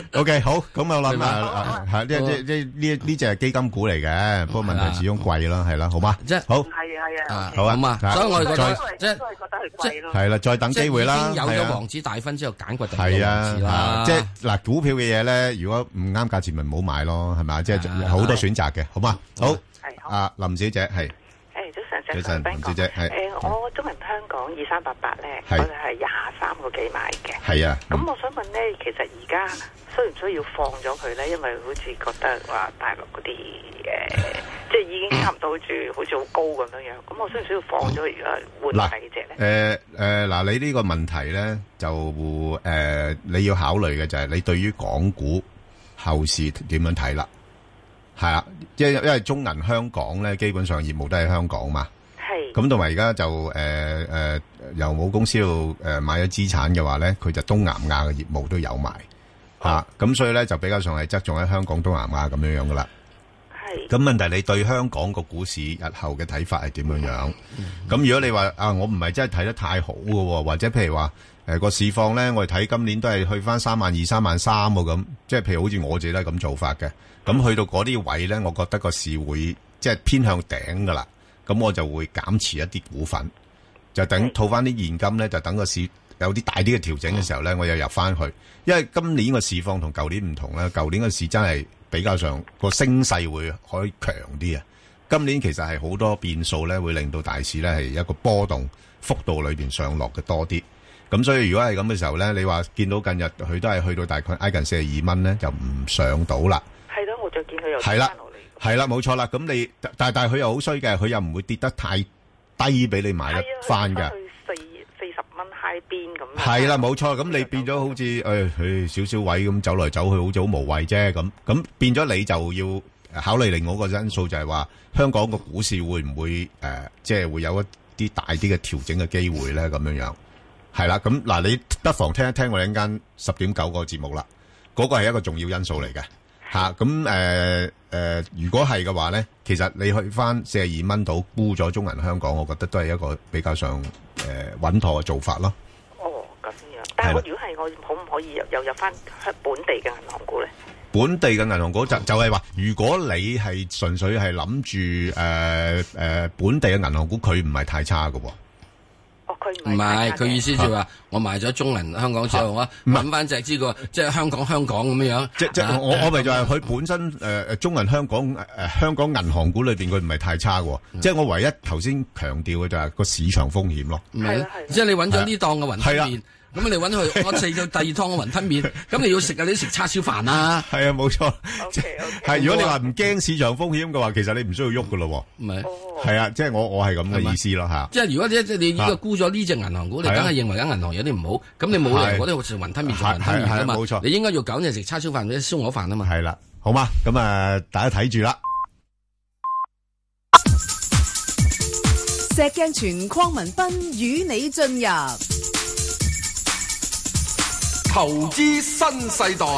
OK， 好，咁我諗係呢隻係基金股嚟嘅，不過問題始終貴啦，係啦，好嘛？ 即係係啊， 好啊嘛，所以我哋覺得即係都係覺得係貴咯。 係啦，再等機會啦。 已經有咗王子大婚之後，揀過第二個係王子啦。 啊，即係嗱，股票嘅嘢咧，如果唔啱價錢，咪唔好買咯，係咪？即係好多選擇嘅，好嘛？好，林小姐係。 早晨， 林小姐係。 我中銀香港2388咧，我哋係23個幾買嘅。 係啊。 咁我想問咧，其實而家需唔需要放咗佢咧？因為好似覺得話大陸嗰啲即係已經差唔多好似好高咁樣樣。咁我需唔需要放咗佢而家換第二隻咧？ 嗱，你呢個問題咧就你要考慮嘅就係你對於港股後市點樣睇啦？係啦，因為中銀香港咧，基本上業務都喺香港嘛。係。咁同埋而家就由母公司度買咗資產嘅話咧，佢就東南亞嘅業務都有埋嚇。咁所以咧就比較上係側重喺香港東南亞咁樣樣噶啦。係。咁問題你對香港個股市日後嘅睇法係點樣樣？咁如果你話我唔係真係睇得太好嘅喎，或者譬如話個市況咧，我哋睇今年都係去翻32,000、33,000喎咁，即係譬如好似我自己都係咁做法嘅。咁去到嗰啲位咧，我覺得個市會即係偏向頂噶啦，咁我就會減持一啲股份，就等套翻啲現金咧，就等個市有啲大啲嘅調整嘅時候咧，我又入翻去。因為今年個市況同舊年唔同啦，舊年個市真係比較上個升勢會可以強啲啊。今年其實係好多變數咧，會令到大市咧係一個波動幅度裏邊上落嘅多啲。咁所以如果係咁嘅時候咧，你話見到近日佢都係去到大概挨近42蚊咧，就唔上到啦。 係咯，我就見佢又跌翻落嚟。係啦，冇錯啦。咁你但係佢又好衰嘅，佢又唔會跌得太低俾你買得翻嘅。 去40蚊 high 邊咁。 係啦，冇錯。咁你變咗好似少少位咁走來走去，好似好無謂啫。咁變咗你就要考慮另外一個因素，就係話香港個股市會唔會即係會有一啲大啲嘅調整嘅機會咧？咁樣樣係啦。咁嗱，你不妨聽一聽我哋陣間10.9個節目啦。嗰個係一個重要因素嚟嘅。吓咁如果係嘅話咧，其實你去翻42蚊度沽咗中銀香港，我覺得都係一個比較上穩妥嘅做法咯。 哦，咁樣。但係我如果係我可唔可以又入翻本地嘅銀行股咧？本地嘅銀行股就係話，如果你係純粹係諗住本地嘅銀行股，佢唔係太差嘅。 唔係，佢意思就係話，我賣咗中銀香港之後，我揾翻隻呢個即係香港咁樣。 即我咪就係佢本身中銀香港銀行股裏邊，佢唔係太差嘅。即係我唯一頭先強調嘅就係個市場風險咯。 唔係，即係你揾咗呢檔嘅雲吞麵，咁你揾佢，我食咗第二檔嘅雲吞麵，咁你要食你食叉燒飯啊。係啊，冇錯。係如果你話唔驚市場風險嘅話，其實你唔需要喐嘅咯。唔係。係啊，即係我係咁嘅意思咯吓。即係如果你呢個沽咗呢隻銀行股，你梗係認為間銀行有啲唔好，咁你冇理由嗰啲好似雲吞麵做雲吞麵噶嘛。冇錯，你應該要搞你食叉燒飯或者燒鵝飯啊嘛。係啦，好嘛，咁大家睇住啦。 石鏡泉鄺民彬與你進入投資新世代。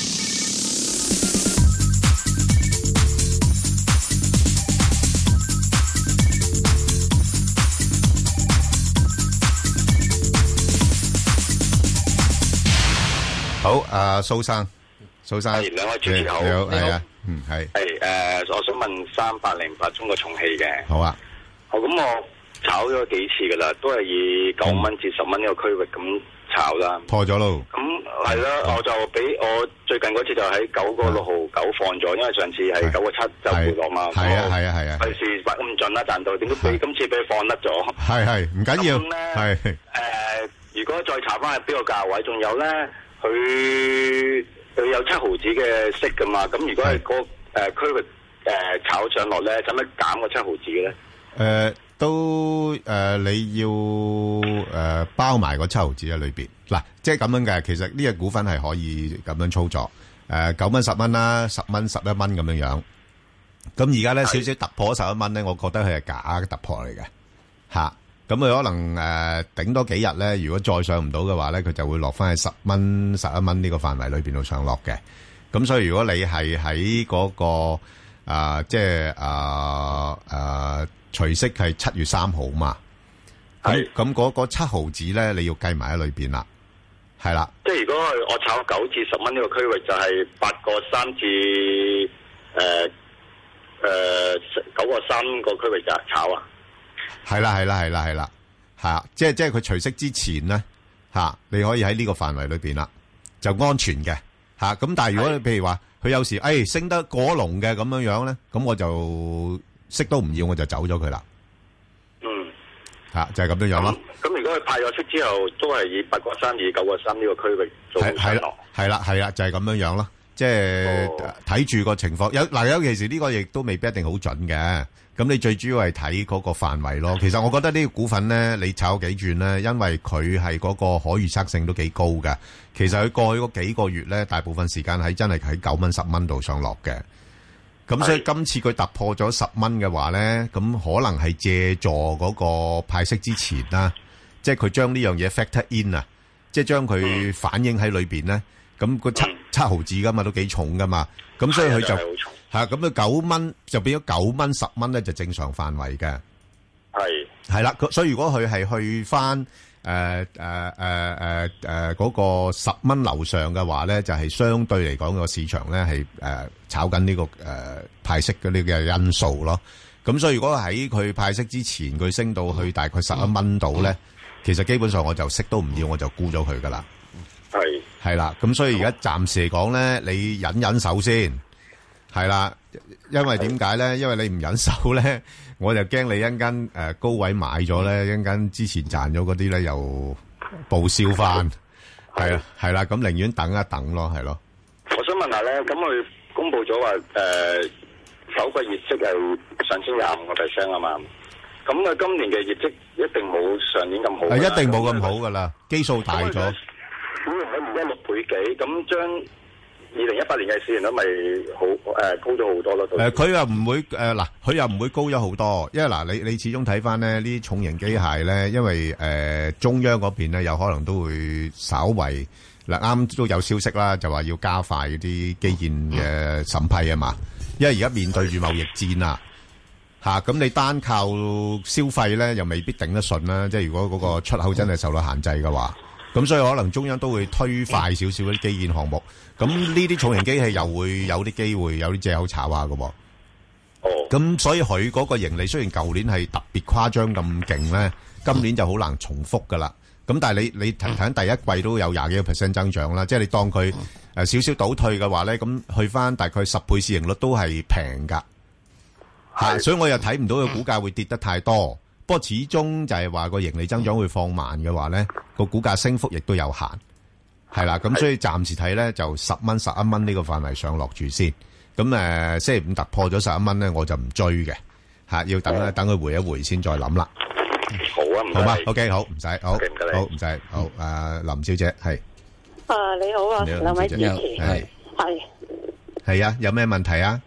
好，蘇生， 係兩位主持好， 你好，係啊，係， 我想問3808中國重汽嘅， 好啊， 好，咁我炒咗幾次噶啦，都係以9蚊至10蚊呢個區域咁炒啦， 破咗咯， 咁係啦，我就俾我最近嗰次就喺9個6毫9放咗，因為上次係9個7就回落嘛， 係啊， 費事發咁盡啦，賺到，點解俾今次俾放甩咗？係唔緊要，係如果再查翻係邊個價位，仲有咧？佢有7毫子嘅息噶嘛？咁如果係區域炒上落咧，使乜減個7毫子嘅咧？ 你要包埋個7毫子喺裏邊嗱，即係咁樣嘅。其實呢隻股份係可以咁樣操作，9蚊10蚊啦，10蚊11蚊咁樣樣。咁而家咧少少突破11蚊咧，我覺得佢係假嘅突破嚟嘅嚇。咁佢可能頂多幾日咧，如果再上唔到嘅話咧，佢就會落翻去10蚊、11蚊呢個範圍裏邊度上落嘅。咁所以如果你係喺嗰個即係除息係7月3號嘛，咁嗰7毫子咧，你要計埋喺裏邊啦， 係啦。 即係如果我炒9至10蚊呢個區域，就係8.3至9.3個區域就炒啊。 係啦，吓，即係佢除息之前咧，吓你可以喺呢個範圍裏邊啦，就安全嘅吓。咁但係如果你譬如話佢有時升得過龍嘅咁樣咧，咁我就息都唔要，我就走咗佢啦。吓就係咁樣樣咯。 咁如果佢派咗息之後，都係以8.3至9.3呢個區域做上落。係啦，就係咁樣樣咯。即係睇住個情況，尤其是呢個亦都未必一定好準嘅。咁你最主要係睇嗰個範圍咯。其實我覺得呢個股份咧，你炒幾轉咧，因為佢係嗰個可預測性都幾高嘅。其實佢過去嗰幾個月咧，大部分時間真係喺9蚊、10蚊度上落嘅。咁所以今次佢突破咗10蚊嘅話咧，咁可能係借助嗰個派息之前啦，即係佢將呢樣嘢 factor in 啊，即係將佢反映喺裏邊咧。咁個七毫子噶嘛，都幾重噶嘛。咁所以佢就係咁佢9蚊就變咗9蚊、10蚊咧，就正常範圍嘅。係啦，所以如果佢係去翻嗰個10蚊樓上嘅話咧，就係相對嚟講個市場咧係炒緊呢個派息嘅呢個因素咯。咁所以如果喺佢派息之前，佢升到去大概11蚊度咧，其實基本上我就息都唔要，我就沽咗佢噶啦。係啦，咁所以而家暫時嚟講咧，你忍手先，係啦，因為點解咧？因為你唔忍手咧，我就驚你一陣間高位買咗咧，一陣間之前賺咗嗰啲咧又報銷翻，係啦，咁寧願等一等咯，係咯。 我想問下咧，咁佢公布咗話首個業績係上升25%啊嘛，咁佢今年嘅業績一定冇上年咁好， 一定冇咁好噶啦，基數大咗。 咁我而家6倍幾，咁將2018年嘅市盈率咪好高咗好多咯？ 佢又唔會嗱，佢又唔會高咗好多，因為嗱，你始終睇翻咧呢啲重型機械咧，因為中央嗰邊咧有可能都會稍為嗱啱都有消息啦，就話要加快嗰啲基建嘅審批啊嘛，因為而家面對住貿易戰啊，咁你單靠消費咧又未必頂得順啦，即係如果嗰個出口真係受到限制嘅話。咁所以可能中央都會推快少少啲基建項目，咁呢啲重型機器又會有啲機會有啲借口炒下嘅。咁所以佢嗰個盈利雖然舊年係特別誇張咁勁咧，今年就好難重複噶啦。咁但係你睇緊第一季都有20幾個% 增長啦，即係你當佢少少倒退嘅話咧，咁去翻大概10倍市盈率都係平噶。所以我又睇唔到個股價會跌得太多。不過始終就係話個盈利增長會放慢嘅話咧，個股價升幅亦都有限，係啦。咁所以暫時睇咧就10蚊、11蚊呢個範圍上落住先。咁星期五突破咗11蚊咧，我就唔追嘅，要等佢回一回先再諗啦。 好啊，唔該。 好嘛 ，OK， 好，唔使，好，好唔使，好。林小姐係。 你好啊，兩位主持係啊，有咩問題啊？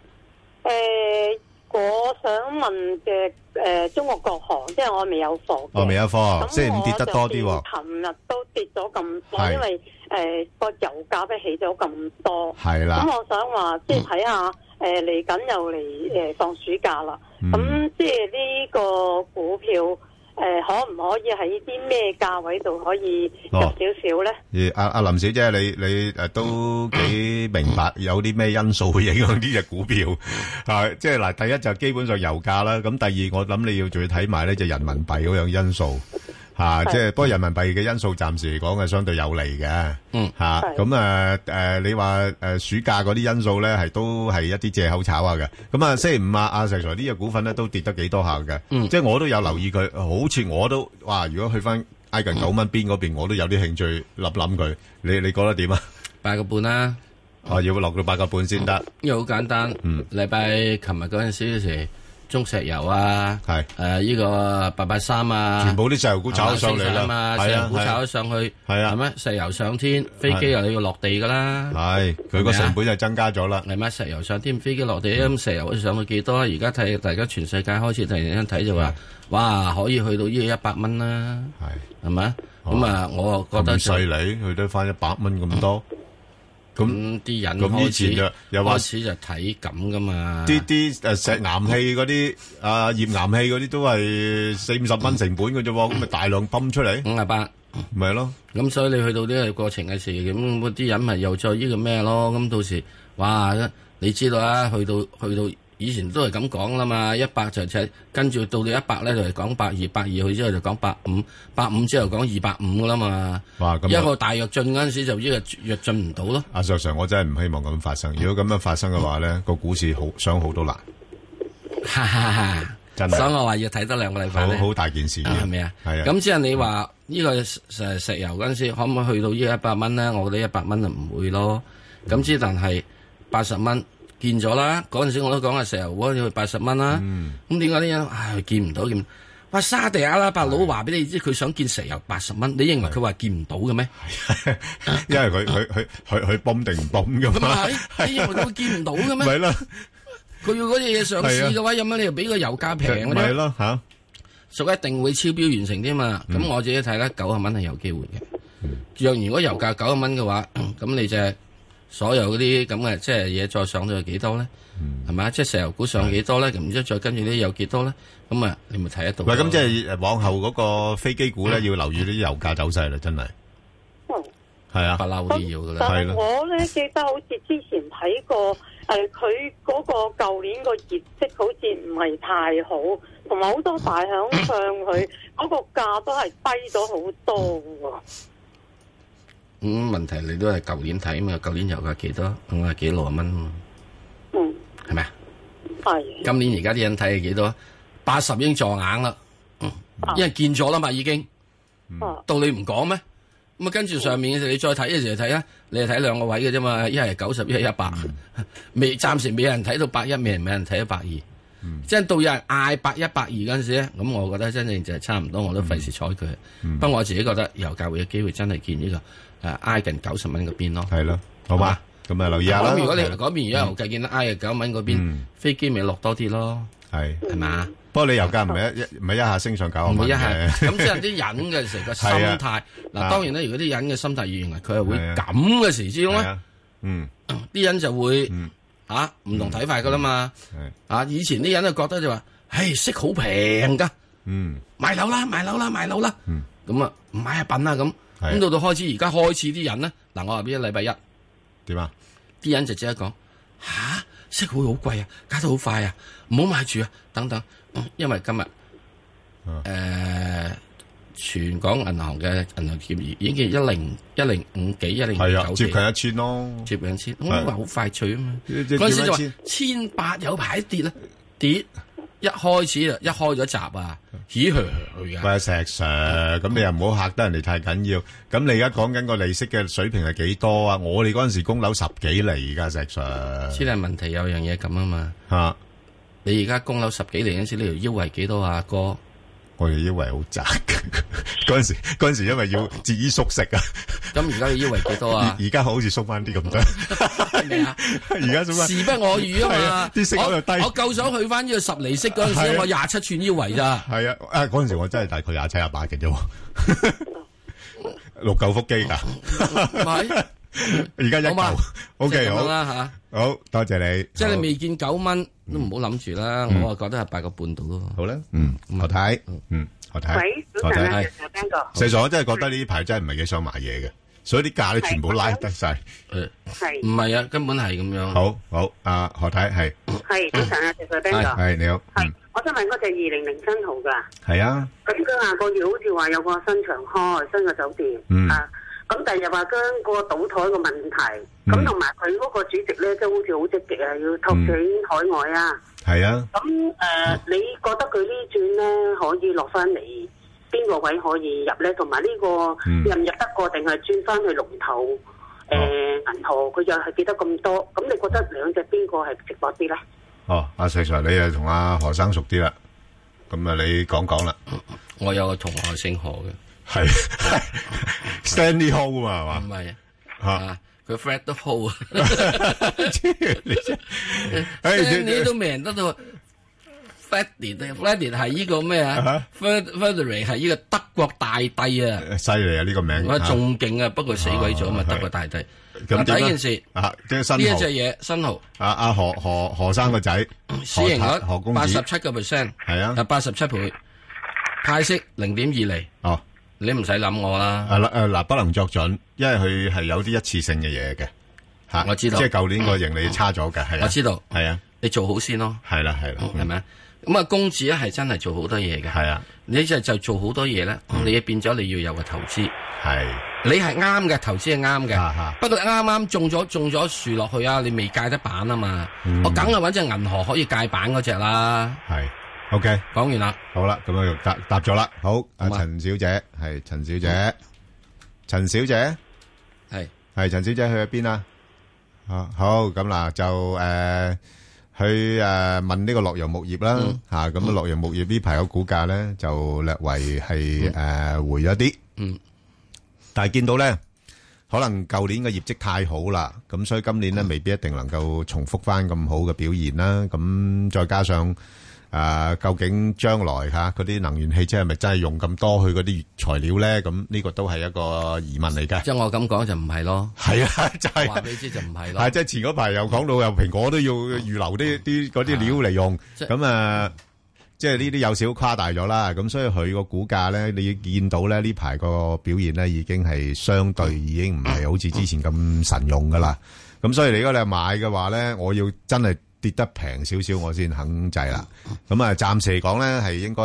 我想問嘅中國國航，即係我未有貨嘅。 未有貨，星期五跌得多啲喎。 琴日都跌咗咁多，因為個油價都起咗咁多。 係啦。 咁我想話，即係睇下嚟緊又嚟放暑假啦。咁即係呢個股票可唔可以喺啲咩價位度可以入少少咧？ 阿林小姐，你都幾明白有啲咩因素會影響呢隻股票？即係嗱，第一就基本上油價啦，咁第二我諗你要仲要睇埋咧就人民幣嗰樣因素。即係不過人民幣嘅因素暫時嚟講係相對有利嘅。咁你話暑假嗰啲因素咧都係一啲借口炒下嘅。咁星期五阿石 Sir 呢隻股份咧都跌得幾多下嘅。即係我都有留意佢，好似我都如果去翻挨近9蚊邊嗰邊，我都有啲興趣諗佢。你覺得點啊 ？8個半啦。 要落到8個半先得。 因為好簡單。禮拜琴日嗰陣時。中石油啊，呢個883啊， 全部啲石油股炒咗上嚟啦， 石油股炒咗上去，係咩？石油上天，飛機又要落地噶啦， 佢個成本就增加咗啦， 係咩？石油上天，飛機落地，咁石油上去幾多？而家睇大家全世界開始突然間睇就話，哇，可以去到呢個100蚊啦，係咪？咁我覺得咁犀利，去得翻100蚊咁多。 咁啲人開始就睇咁噶嘛？ 啲石岩氣嗰啲頁岩氣嗰啲都係40-50蚊成本嘅啫喎，咁咪大量泵出嚟。 58 咪咯。 咁所以你去到呢個過程嘅時，咁嗰啲人咪又再呢個咩咯？咁到時，哇！你知道啊，去到以前都係咁講啦嘛，100就跟住到100咧就係講120，120去之後就講150之後講250噶啦嘛。 哇！咁一個大躍進嗰陣時就呢個躍進唔到咯。 阿 Sir， 我真係唔希望咁發生。如果咁樣發生嘅話咧，個股市想好都難。 哈哈哈！真係，所以我話要睇多2個禮拜好大件事， 係咪啊？ 係啊。 咁即係你話呢個石油嗰陣時，可唔可以去到呢個100蚊咧？我覺得100蚊就唔會咯。咁之但係80蚊見咗啦。嗰陣時我都講係石油嗰要去80蚊啦。咁點解啲人見唔到見？哇！沙地阿拉伯佬話俾你知，佢想見石油80蚊，你認為佢話見唔到嘅咩？ 因為佢泵定唔泵噶嘛？ 你認為佢見唔到嘅咩？ 咪啦。 佢要嗰啲嘢上市嘅話，有乜你又俾個油價平嘅啫？ 咪咯嚇， 所以一定會超標完成添嘛。咁我自己睇咧，90蚊係有機會嘅。如果油價90蚊嘅話，咁你就所有嗰啲咁嘅即係嘢再上到去幾多咧？係咪？即係石油股上幾多咧？咁然之後再跟住啲有幾多咧？咁啊，你咪睇得到。 喂，咁即係往後嗰個飛機股咧，要留意啲油價走勢啦，真係。係啊， 不嬲都要噶啦。 但係我咧記得好似之前睇過，佢嗰個舊年個業績好似唔係太好，同埋好多大響上佢嗰個價都係低咗好多喎。 問題你都係舊年睇嘛？舊年油價幾多？50幾60蚊嘛？係咪啊？ 係。 今年而家啲人睇係幾多？80已經撞硬啦，因為見咗啦嘛，已經。到你唔講咩？咁啊，跟住上面嘅時候，你再睇嘅時候睇啊，你係睇2個位嘅啫嘛，一係90，一係100，暫時未有人睇到81，未有人睇到120，即係到有人嗌110、120嗰陣時咧，咁我覺得真正就係差唔多，我都費事睬佢。不過我自己覺得油價會有機會真係見呢個挨近90蚊嗰邊咯。 係咯，好嘛？咁啊，留意下啦。 咁如果你嗰邊而家油價見得挨近90蚊嗰邊，飛機咪落多啲咯。係嘛？ 不過你油價唔係一下升上90蚊嘅。 咁即係啲人嘅成個心態。嗱，當然咧，如果啲人嘅心態認為佢係會咁嘅時之中咧，啲人就會唔同睇法噶啦嘛。以前啲人就覺得就話，息好平噶，買樓啦，買樓啦，買樓啦。咁啊，唔買啊笨啊咁。咁到開始而家開始啲人咧，嗱，我話俾你禮拜一點啊？啲人就即刻講息會好貴啊，加得好快啊，唔好買住啊，等等。因為今日全港銀行嘅銀行結餘已經係105幾109幾， 接近1000咯， 接近1000，我話好快脆啊嘛。嗰陣時就話1800有排跌啦，跌一開始一開咗閘啊，起㗎。 喂，石 Sir，咁你又唔好嚇得人哋太緊要。咁你而家講緊個利息嘅水平係幾多啊？我哋嗰陣時供樓10幾厘㗎，石 Sir。 先係問題有樣嘢咁啊嘛。你而家供樓10幾厘嗰陣時，你條腰圍幾多啊？哥， 我條腰圍好窄嘅。嗰陣時因為要節衣縮食啊。 咁而家你腰圍幾多啊？ 而家好似縮翻啲咁多。 係咪啊？ 而家縮翻。 時不我與啊嘛。 啲息又低。 我夠想去翻呢個10厘息嗰陣時，我27寸腰圍咋。 係啊，嗰陣時我真係大概27、28嘅啫。6嚿腹肌㗎。係。而家1嚿。OK， 好啦吓。好多謝你。 即係你未見9蚊都唔好諗住啦。我啊覺得係8個半度咯。 好啦，何太，何太。 喂，早晨啊，石 Ben 哥。 石 Sir，我真係覺得呢排真係唔係幾想買嘢嘅，所以啲價咧全部拉得晒。 係。 唔係啊，根本係咁樣。 好，何太係。 係早晨啊，石 Ben 哥。 係你好。 係，我想問嗰隻2007號㗎。 係啊。咁佢下個月好似話有個新場開，新嘅酒店。咁第日話將個賭台個問題，咁同埋佢嗰個主席咧，即係好似好積極啊，要拓展海外啊。 係啊。 咁你覺得佢呢轉咧可以落翻嚟邊個位可以入咧？同埋呢個入唔入得過，定係轉翻去龍頭銀河？佢又係跌得咁多，咁你覺得兩隻邊個係值博啲咧？ 阿石 Sir，你又同阿何生熟啲啦，咁啊你講啦。 我有個同學姓何嘅。 係 Stanley Ho 啊嘛， 唔係啊，佢 Fred 都 Ho 啊，你都未人得到 Freddy 係呢個咩啊 ？Frederick 係呢個德國大帝啊， 犀利啊呢個名， 我仲勁啊，不過死鬼咗啊嘛，德國大帝。咁第一件事即係新呢一隻嘢新豪， 阿何生個仔， 市盈率何公子 87%， 係啊， 87倍，派息0.2厘。 你唔使諗我啦。 嗱，不能作準，因為佢係有啲一次性嘅嘢嘅嚇。 我知道， 即係舊年個盈利差咗嘅，係啊。 我知道， 係啊， 你做好先咯。 係啦， 係咪？咁啊，公子咧係真係做好多嘢嘅。 係啊， 你就做好多嘢咧，你變咗你要有個投資。 係， 你係啱嘅，投資係啱嘅。不過啱種咗樹落去啊，你未戒得板啊嘛。我梗係揾隻銀河可以戒板嗰隻啦。 係 ，OK， 講完啦。 好啦，咁樣答咗啦。好，阿陳小姐係陳小姐，陳小姐係陳小姐去咗邊啊？好，咁嗱就去問呢個洛陽木業啦嚇，咁洛陽木業呢排個股價咧就略為係回咗啲，但係見到咧可能舊年嘅業績太好啦，咁所以今年咧未必一定能夠重複翻咁好嘅表現啦。咁再加上究竟將來嚇嗰啲能源汽車係咪真係用咁多去嗰啲材料咧？咁呢個都係一個疑問嚟嘅。 即係我咁講就唔係咯。 係啊，就係話俾你知就唔係咯。 係即係前嗰排又講到又蘋果都要預留啲嗰啲料嚟用，咁即係呢啲有少誇大咗啦。咁所以佢個股價咧，你見到咧呢排個表現咧已經係相對已經唔係好似之前咁神勇噶啦。咁所以你如果你買嘅話咧，我要真係跌得平少少我先肯制啦。咁暫時嚟講咧係應該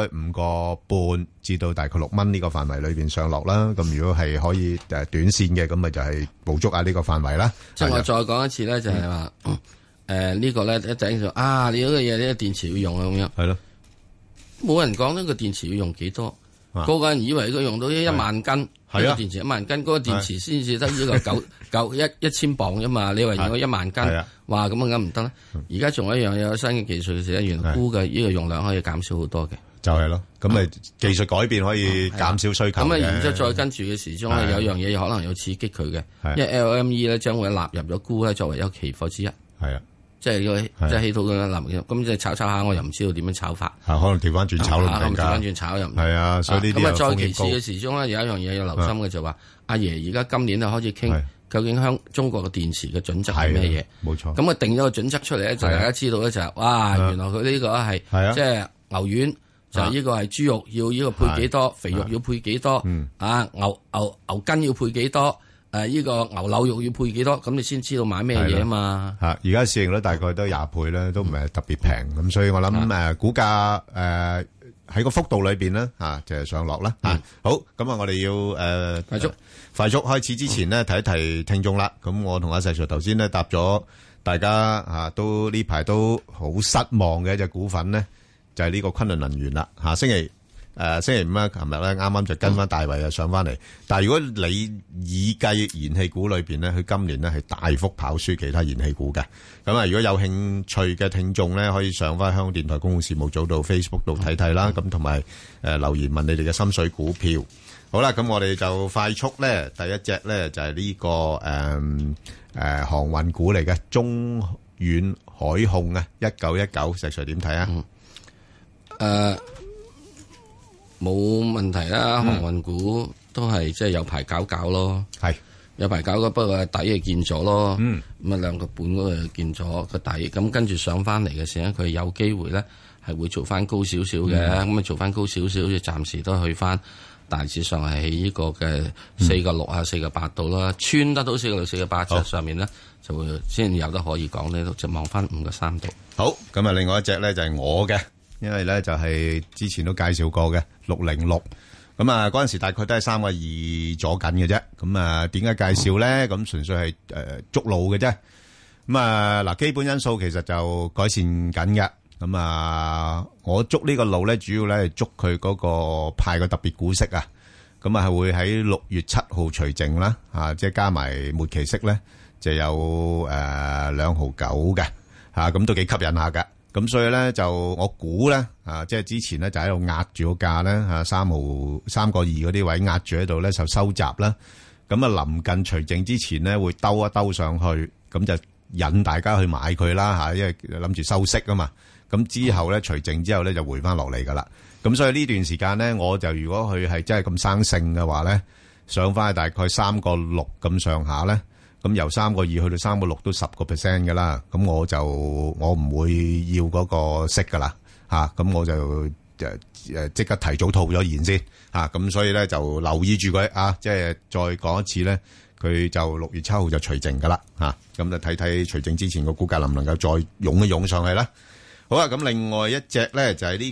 5.5至到大概6蚊呢個範圍裏邊上落啦。咁如果係可以短線嘅，咁咪就係捕捉下呢個範圍啦。 即係我再講一次咧，就係話呢個咧一陣就你嗰個嘢呢電池要用啊咁樣。 係咯， 冇人講呢個電池要用幾多，個個人以為佢用到1萬斤，係啊，電池1萬斤，嗰個電池先至得呢個1000磅啫嘛。你話用咗1萬斤，哇咁梗唔得啦。而家仲有一樣有新嘅技術嘅時候，原來鈷嘅呢個用量可以減少好多嘅。就係咯，咁咪技術改變可以減少需求。咁然之後再跟住嘅時鐘咧，有樣嘢可能要刺激佢嘅，因為 LME 咧將會納入咗鈷咧作為一個期貨之一。係啊。即係起到咁樣咁即係炒下，我又唔知道點樣炒法。可能調翻轉炒咯，調翻轉炒又唔係啊。所以呢啲咁啊，再其次嘅時鐘咧，有一樣嘢要留心嘅就話，阿爺而家今年咧開始傾究竟中國嘅電池嘅準則係咩嘢？冇錯。咁啊定咗個準則出嚟咧，就大家知道咧就係哇，原來佢呢個係即係牛丸，就係呢個係豬肉要呢個配幾多，肥肉要配幾多，牛筋要配幾多。呢個牛柳肉要配幾多？咁你先知道買咩嘢啊嘛？而家市盈率大概都20倍咧，都唔係特別平。咁所以我諗股價喺個幅度裏邊咧就係上落啦。好，咁我哋要快速開始之前呢，提一提聽眾啦。咁我同阿石 Sir 頭先咧答咗大家都呢排都好失望嘅一隻股份咧，就係呢個昆侖能源啦。星期五啦，琴日咧啱啱就跟翻大圍上翻嚟，但係如果你以計燃氣股裏邊咧，佢今年咧係大幅跑輸其他燃氣股嘅。咁如果有興趣嘅聽眾咧，可以上翻香港電台公共事務組到 Facebook 度睇睇啦。咁同埋留言問你哋嘅心水股票。好啦，咁我哋就快速咧，第一隻咧就係呢個航運股嚟嘅中遠海控啊，1919，石 Sir 點睇啊？冇問題啦，航運股都係即係有排搞咯，係有排搞嘅，不過底就見咗咯，咁2個半嗰個見咗個底，咁跟住上翻嚟嘅時候，佢有機會咧係會做翻高少少嘅，咁做翻高少少，暫時都去翻大致上係喺呢個嘅4.6啊4.8度啦，穿得到4.6 4.8上面咧就會先有得可以講呢，就望翻5.3度。好，咁另外一隻咧就係我嘅。因為咧就係之前都介紹過嘅606，咁嗰陣時大概都係3.2咗緊嘅啫。咁點解介紹咧？咁純粹係捉路嘅啫。咁嗱，基本因素其實就改善緊嘅。咁我捉呢個路咧，主要咧係捉佢嗰個派個特別股息啊。咁係會喺6月7號除淨啦，即係加埋末期息咧，就有2.9毫嘅咁都幾吸引下噶。咁所以咧就我估咧即係之前咧就喺度壓住個價咧3.2嗰啲位壓住喺度咧就收集啦。咁臨近除淨之前咧會兜一兜上去，咁就引大家去買佢啦因為諗住收息啊嘛。咁之後咧除淨之後咧就回翻落嚟噶啦。咁所以呢段時間咧，我就如果佢係真係咁生性嘅話咧，上翻去大概3.6咁上下咧。咁由3.2去到3.6都10% 噶啦，咁我唔會要嗰個息噶啦，咁我就即刻提早套咗現先咁所以咧就留意住佢即係再講一次咧，佢就6月7號就除淨噶啦咁就睇睇除淨之前個股價能唔能夠再湧一湧上去啦。好啦，咁另外一隻咧就係呢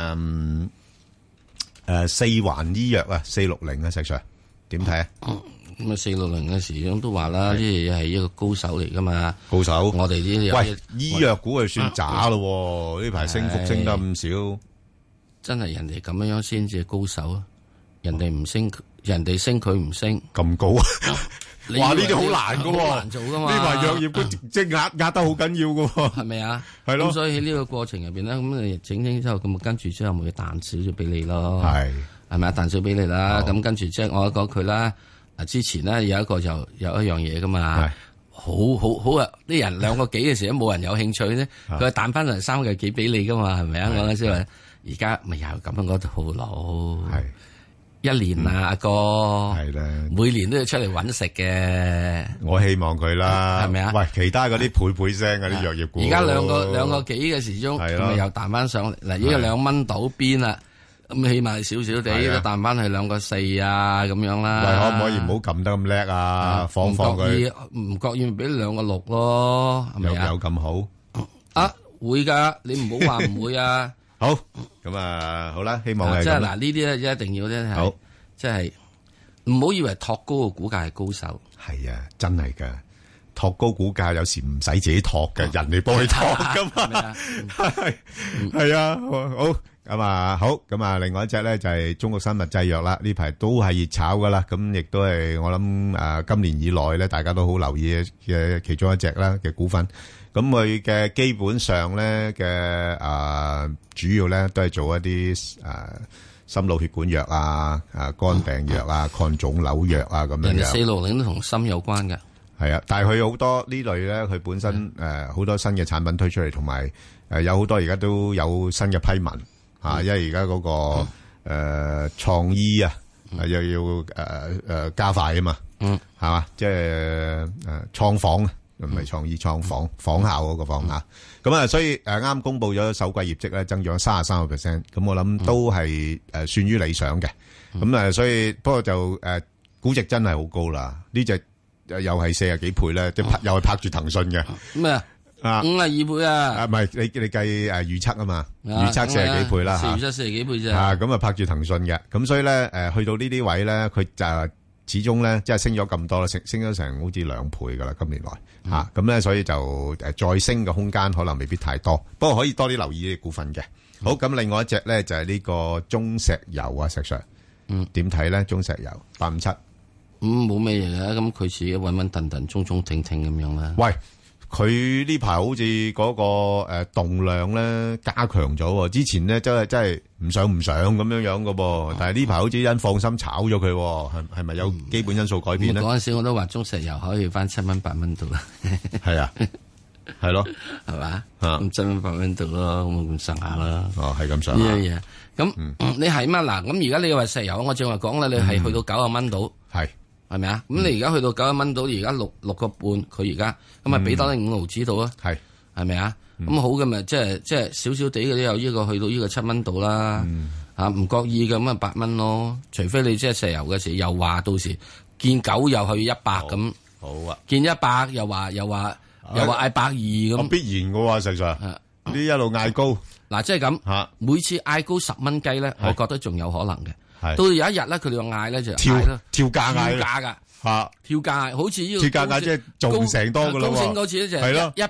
個四環醫藥460石 Sir 點睇啊？ 咁460嘅時鐘都話啦，呢啲係一個高手嚟噶嘛， 高手。 我哋啲喂醫藥股係算渣咯，呢排升幅升得咁少， 真係人哋咁樣先至係高手啊！人哋唔升，人哋升佢唔升， 咁高啊！哇！呢啲好難噶， 好難做噶嘛。 呢排藥業股即係壓得好緊要噶， 係咪啊？ 係咯。 咁所以喺呢個過程入邊咧，咁你整之後，咁跟住之後咪彈少少俾你咯。係咪啊？彈少俾你啦。咁跟住即係我講佢啦。之前咧有一個就有一樣嘢噶嘛，好啊！啲人2個幾嘅時候冇人有興趣咧，佢彈翻嚟3個幾俾你噶嘛，係咪啊？我先話而家咪又咁樣嗰套路，係1年啊，阿哥係啦，每年都要出嚟搵食嘅。我希望佢啦，係咪啊？喂，其他嗰啲倍聲嗰啲藥業股，而家2個幾嘅時鐘，咁咪又彈翻上嚟嗱，依個2蚊到邊啦。咁起碼少少地都彈翻去2個4啊咁樣啦。喂，可唔可以唔好撳得咁叻啊？放佢，唔覺意俾2個6咯，係咪啊？有咁好啊？會噶，你唔好話唔會啊。好，咁啊，好啦，希望係即係嗱，呢啲咧一定要咧係，即係唔好以為托高個股價係高手。係啊，真係噶，托高股價有時唔使自己托嘅，人哋幫佢托噶嘛。係啊，好。咁啊，好咁啊，另外一隻咧就係中國生物製藥啦，呢排都係熱炒噶啦，咁亦都係我諗今年以來咧，大家都好留意嘅其中一隻啦嘅股份。咁佢嘅基本上咧嘅主要咧都係做一啲心腦血管藥肝病藥抗腫瘤藥咁樣。人哋460都同心有關嘅。係啊，但係佢好多呢類咧，佢本身好多新嘅產品推出嚟，同埋有好多而家都有新嘅批文。因為而家嗰個創醫又要加快啊嘛，係嘛，即係創仿唔係創醫創仿仿效嗰個仿吓，咁所以啱公布咗首季業績咧，增長33%，咁我諗都係算於理想嘅，咁所以不過就估值真係好高啦，呢隻又係40幾倍咧，即係又係拍住騰訊嘅咩啊？52倍啊！唔係你計預測啊嘛，預測40幾倍啦嚇，預測40幾倍啫。咁啊拍住騰訊嘅，咁所以咧去到呢啲位咧，佢就始終咧即係升咗咁多啦，升咗成好似2倍噶啦，今年來嚇。咁咧所以就再升嘅空間可能未必太多，不過可以多啲留意啲股份嘅。好，咁另外一隻咧就係呢個中石油啊，石 Sir，點睇咧？中石油857，冇咩嘢嘅，咁佢自己穩穩陣陣、中中挺挺咁樣啦。喂！佢呢排好似嗰個動量咧加強咗，之前咧真係唔上咁樣噶噃，但係呢排好似因放心炒咗佢，係咪有基本因素改變咧？嗰陣時我都話中石油可以翻7蚊8蚊度啦，係啊，係咯，係嘛，咁7蚊8蚊度咯，咁上下啦，係咁上下呢樣嘢。咁你係嘛嗱？咁而家你話石油，我正話講啦，你係去到90蚊度，係咪啊？咁你而家去到90蚊度，而家6個半，佢而家咁啊，俾多你5毫子度啊？係咪啊？咁好嘅咪即係少少地嗰啲有呢個去到呢個7蚊度啦。唔覺意嘅咁啊8蚊咯。除非你即係石油嘅時又話到時見9又去100咁。好啊！見100又話嗌120咁。必然嘅喎，實際呢一路嗌高嗱，即係咁每次嗌高10蚊雞咧，我覺得仲有可能嘅。到有一日咧，佢哋話嗌咧就跳價嗌噶吓，跳價好似呢個跳價嗌即係做成多噶啦。高盛嗰次咧就係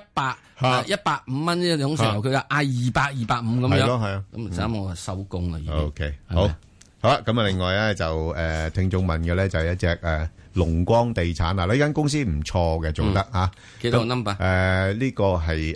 105蚊呢種石油，佢話嗌200、250咁樣。係咯，係啊。咁啱我收工啦。OK，好啦。咁啊，另外咧就聽眾問嘅咧就係一隻龍光地產嗱，呢間公司唔錯嘅，做得吓。幾多 number？呢個係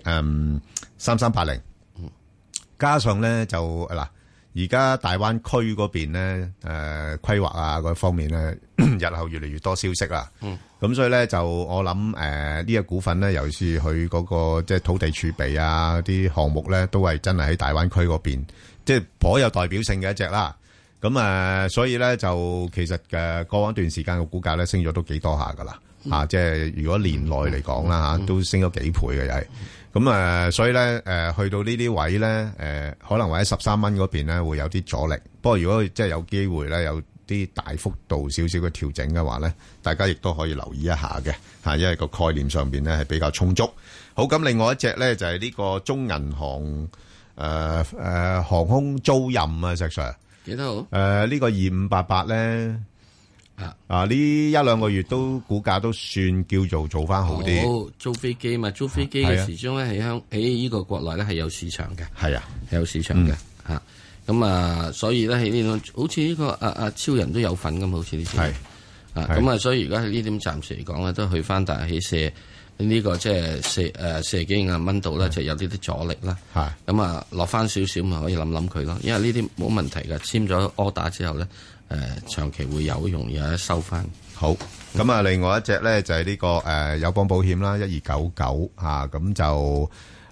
3380，加上咧就嗱。而家大灣區嗰邊咧，規劃嗰方面咧，日後越嚟越多消息啦。咁所以咧就我諗呢一股份咧，尤其是佢嗰個即係土地儲備啲項目咧，都係真係喺大灣區嗰邊，即係頗有代表性嘅一隻啦。咁所以咧就其實過往一段時間個股價咧升咗都幾多下噶啦。 即係如果年內嚟講啦都升咗幾倍嘅又係。咁所以咧去到呢啲位咧可能或者13蚊嗰邊咧會有啲阻力。不過如果即係有機會咧有啲大幅度少少嘅調整嘅話咧，大家亦都可以留意一下嘅，因為個概念上邊咧係比較充足。好，咁另外一隻咧就係呢個中銀行航空租賃啊，石 Sir 幾多號？ 呢個2588咧。呢一兩個月都股價都算叫做翻好啲。 租飛機嘛，租飛機嘅時鐘咧喺呢個國內咧係有市場嘅，係有市場嘅嚇。咁所以咧喺呢種好似呢個超人都有份咁，好似呢啲咁所以而家喺呢點暫時嚟講咧，都去翻大起射呢個即係射幾廿蚊度咧，就有呢啲阻力啦。咁落翻少少咪可以諗佢咯，因為呢啲冇問題㗎。簽咗 order 之後咧。長期會有容易有得收翻。 好，咁另外一隻咧就係呢個友邦保險啦，1299咁就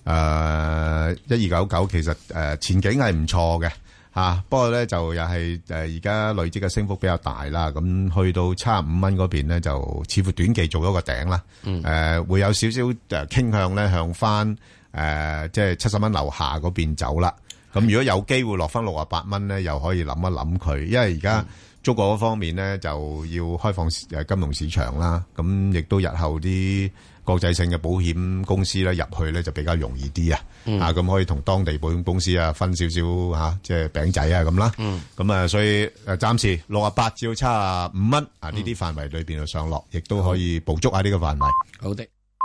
1299其實前景係唔錯嘅不過咧就又係而家累積嘅升幅比較大啦，咁去到75蚊嗰邊咧就似乎短期做咗個頂啦，會有少少傾向咧向翻即係70蚊樓下嗰邊走啦。咁如果有機會落翻68蚊咧，又可以諗一諗佢，因為而家中國嗰方面咧就要開放金融市場啦，咁亦都日後啲國際性嘅保險公司咧入去咧就比較容易啲咁可以同當地保險公司分少少即係餅仔咁啦，咁所以暫時68至到75蚊呢啲範圍裏邊去上落，亦都可以捕捉下呢個範圍。 好的。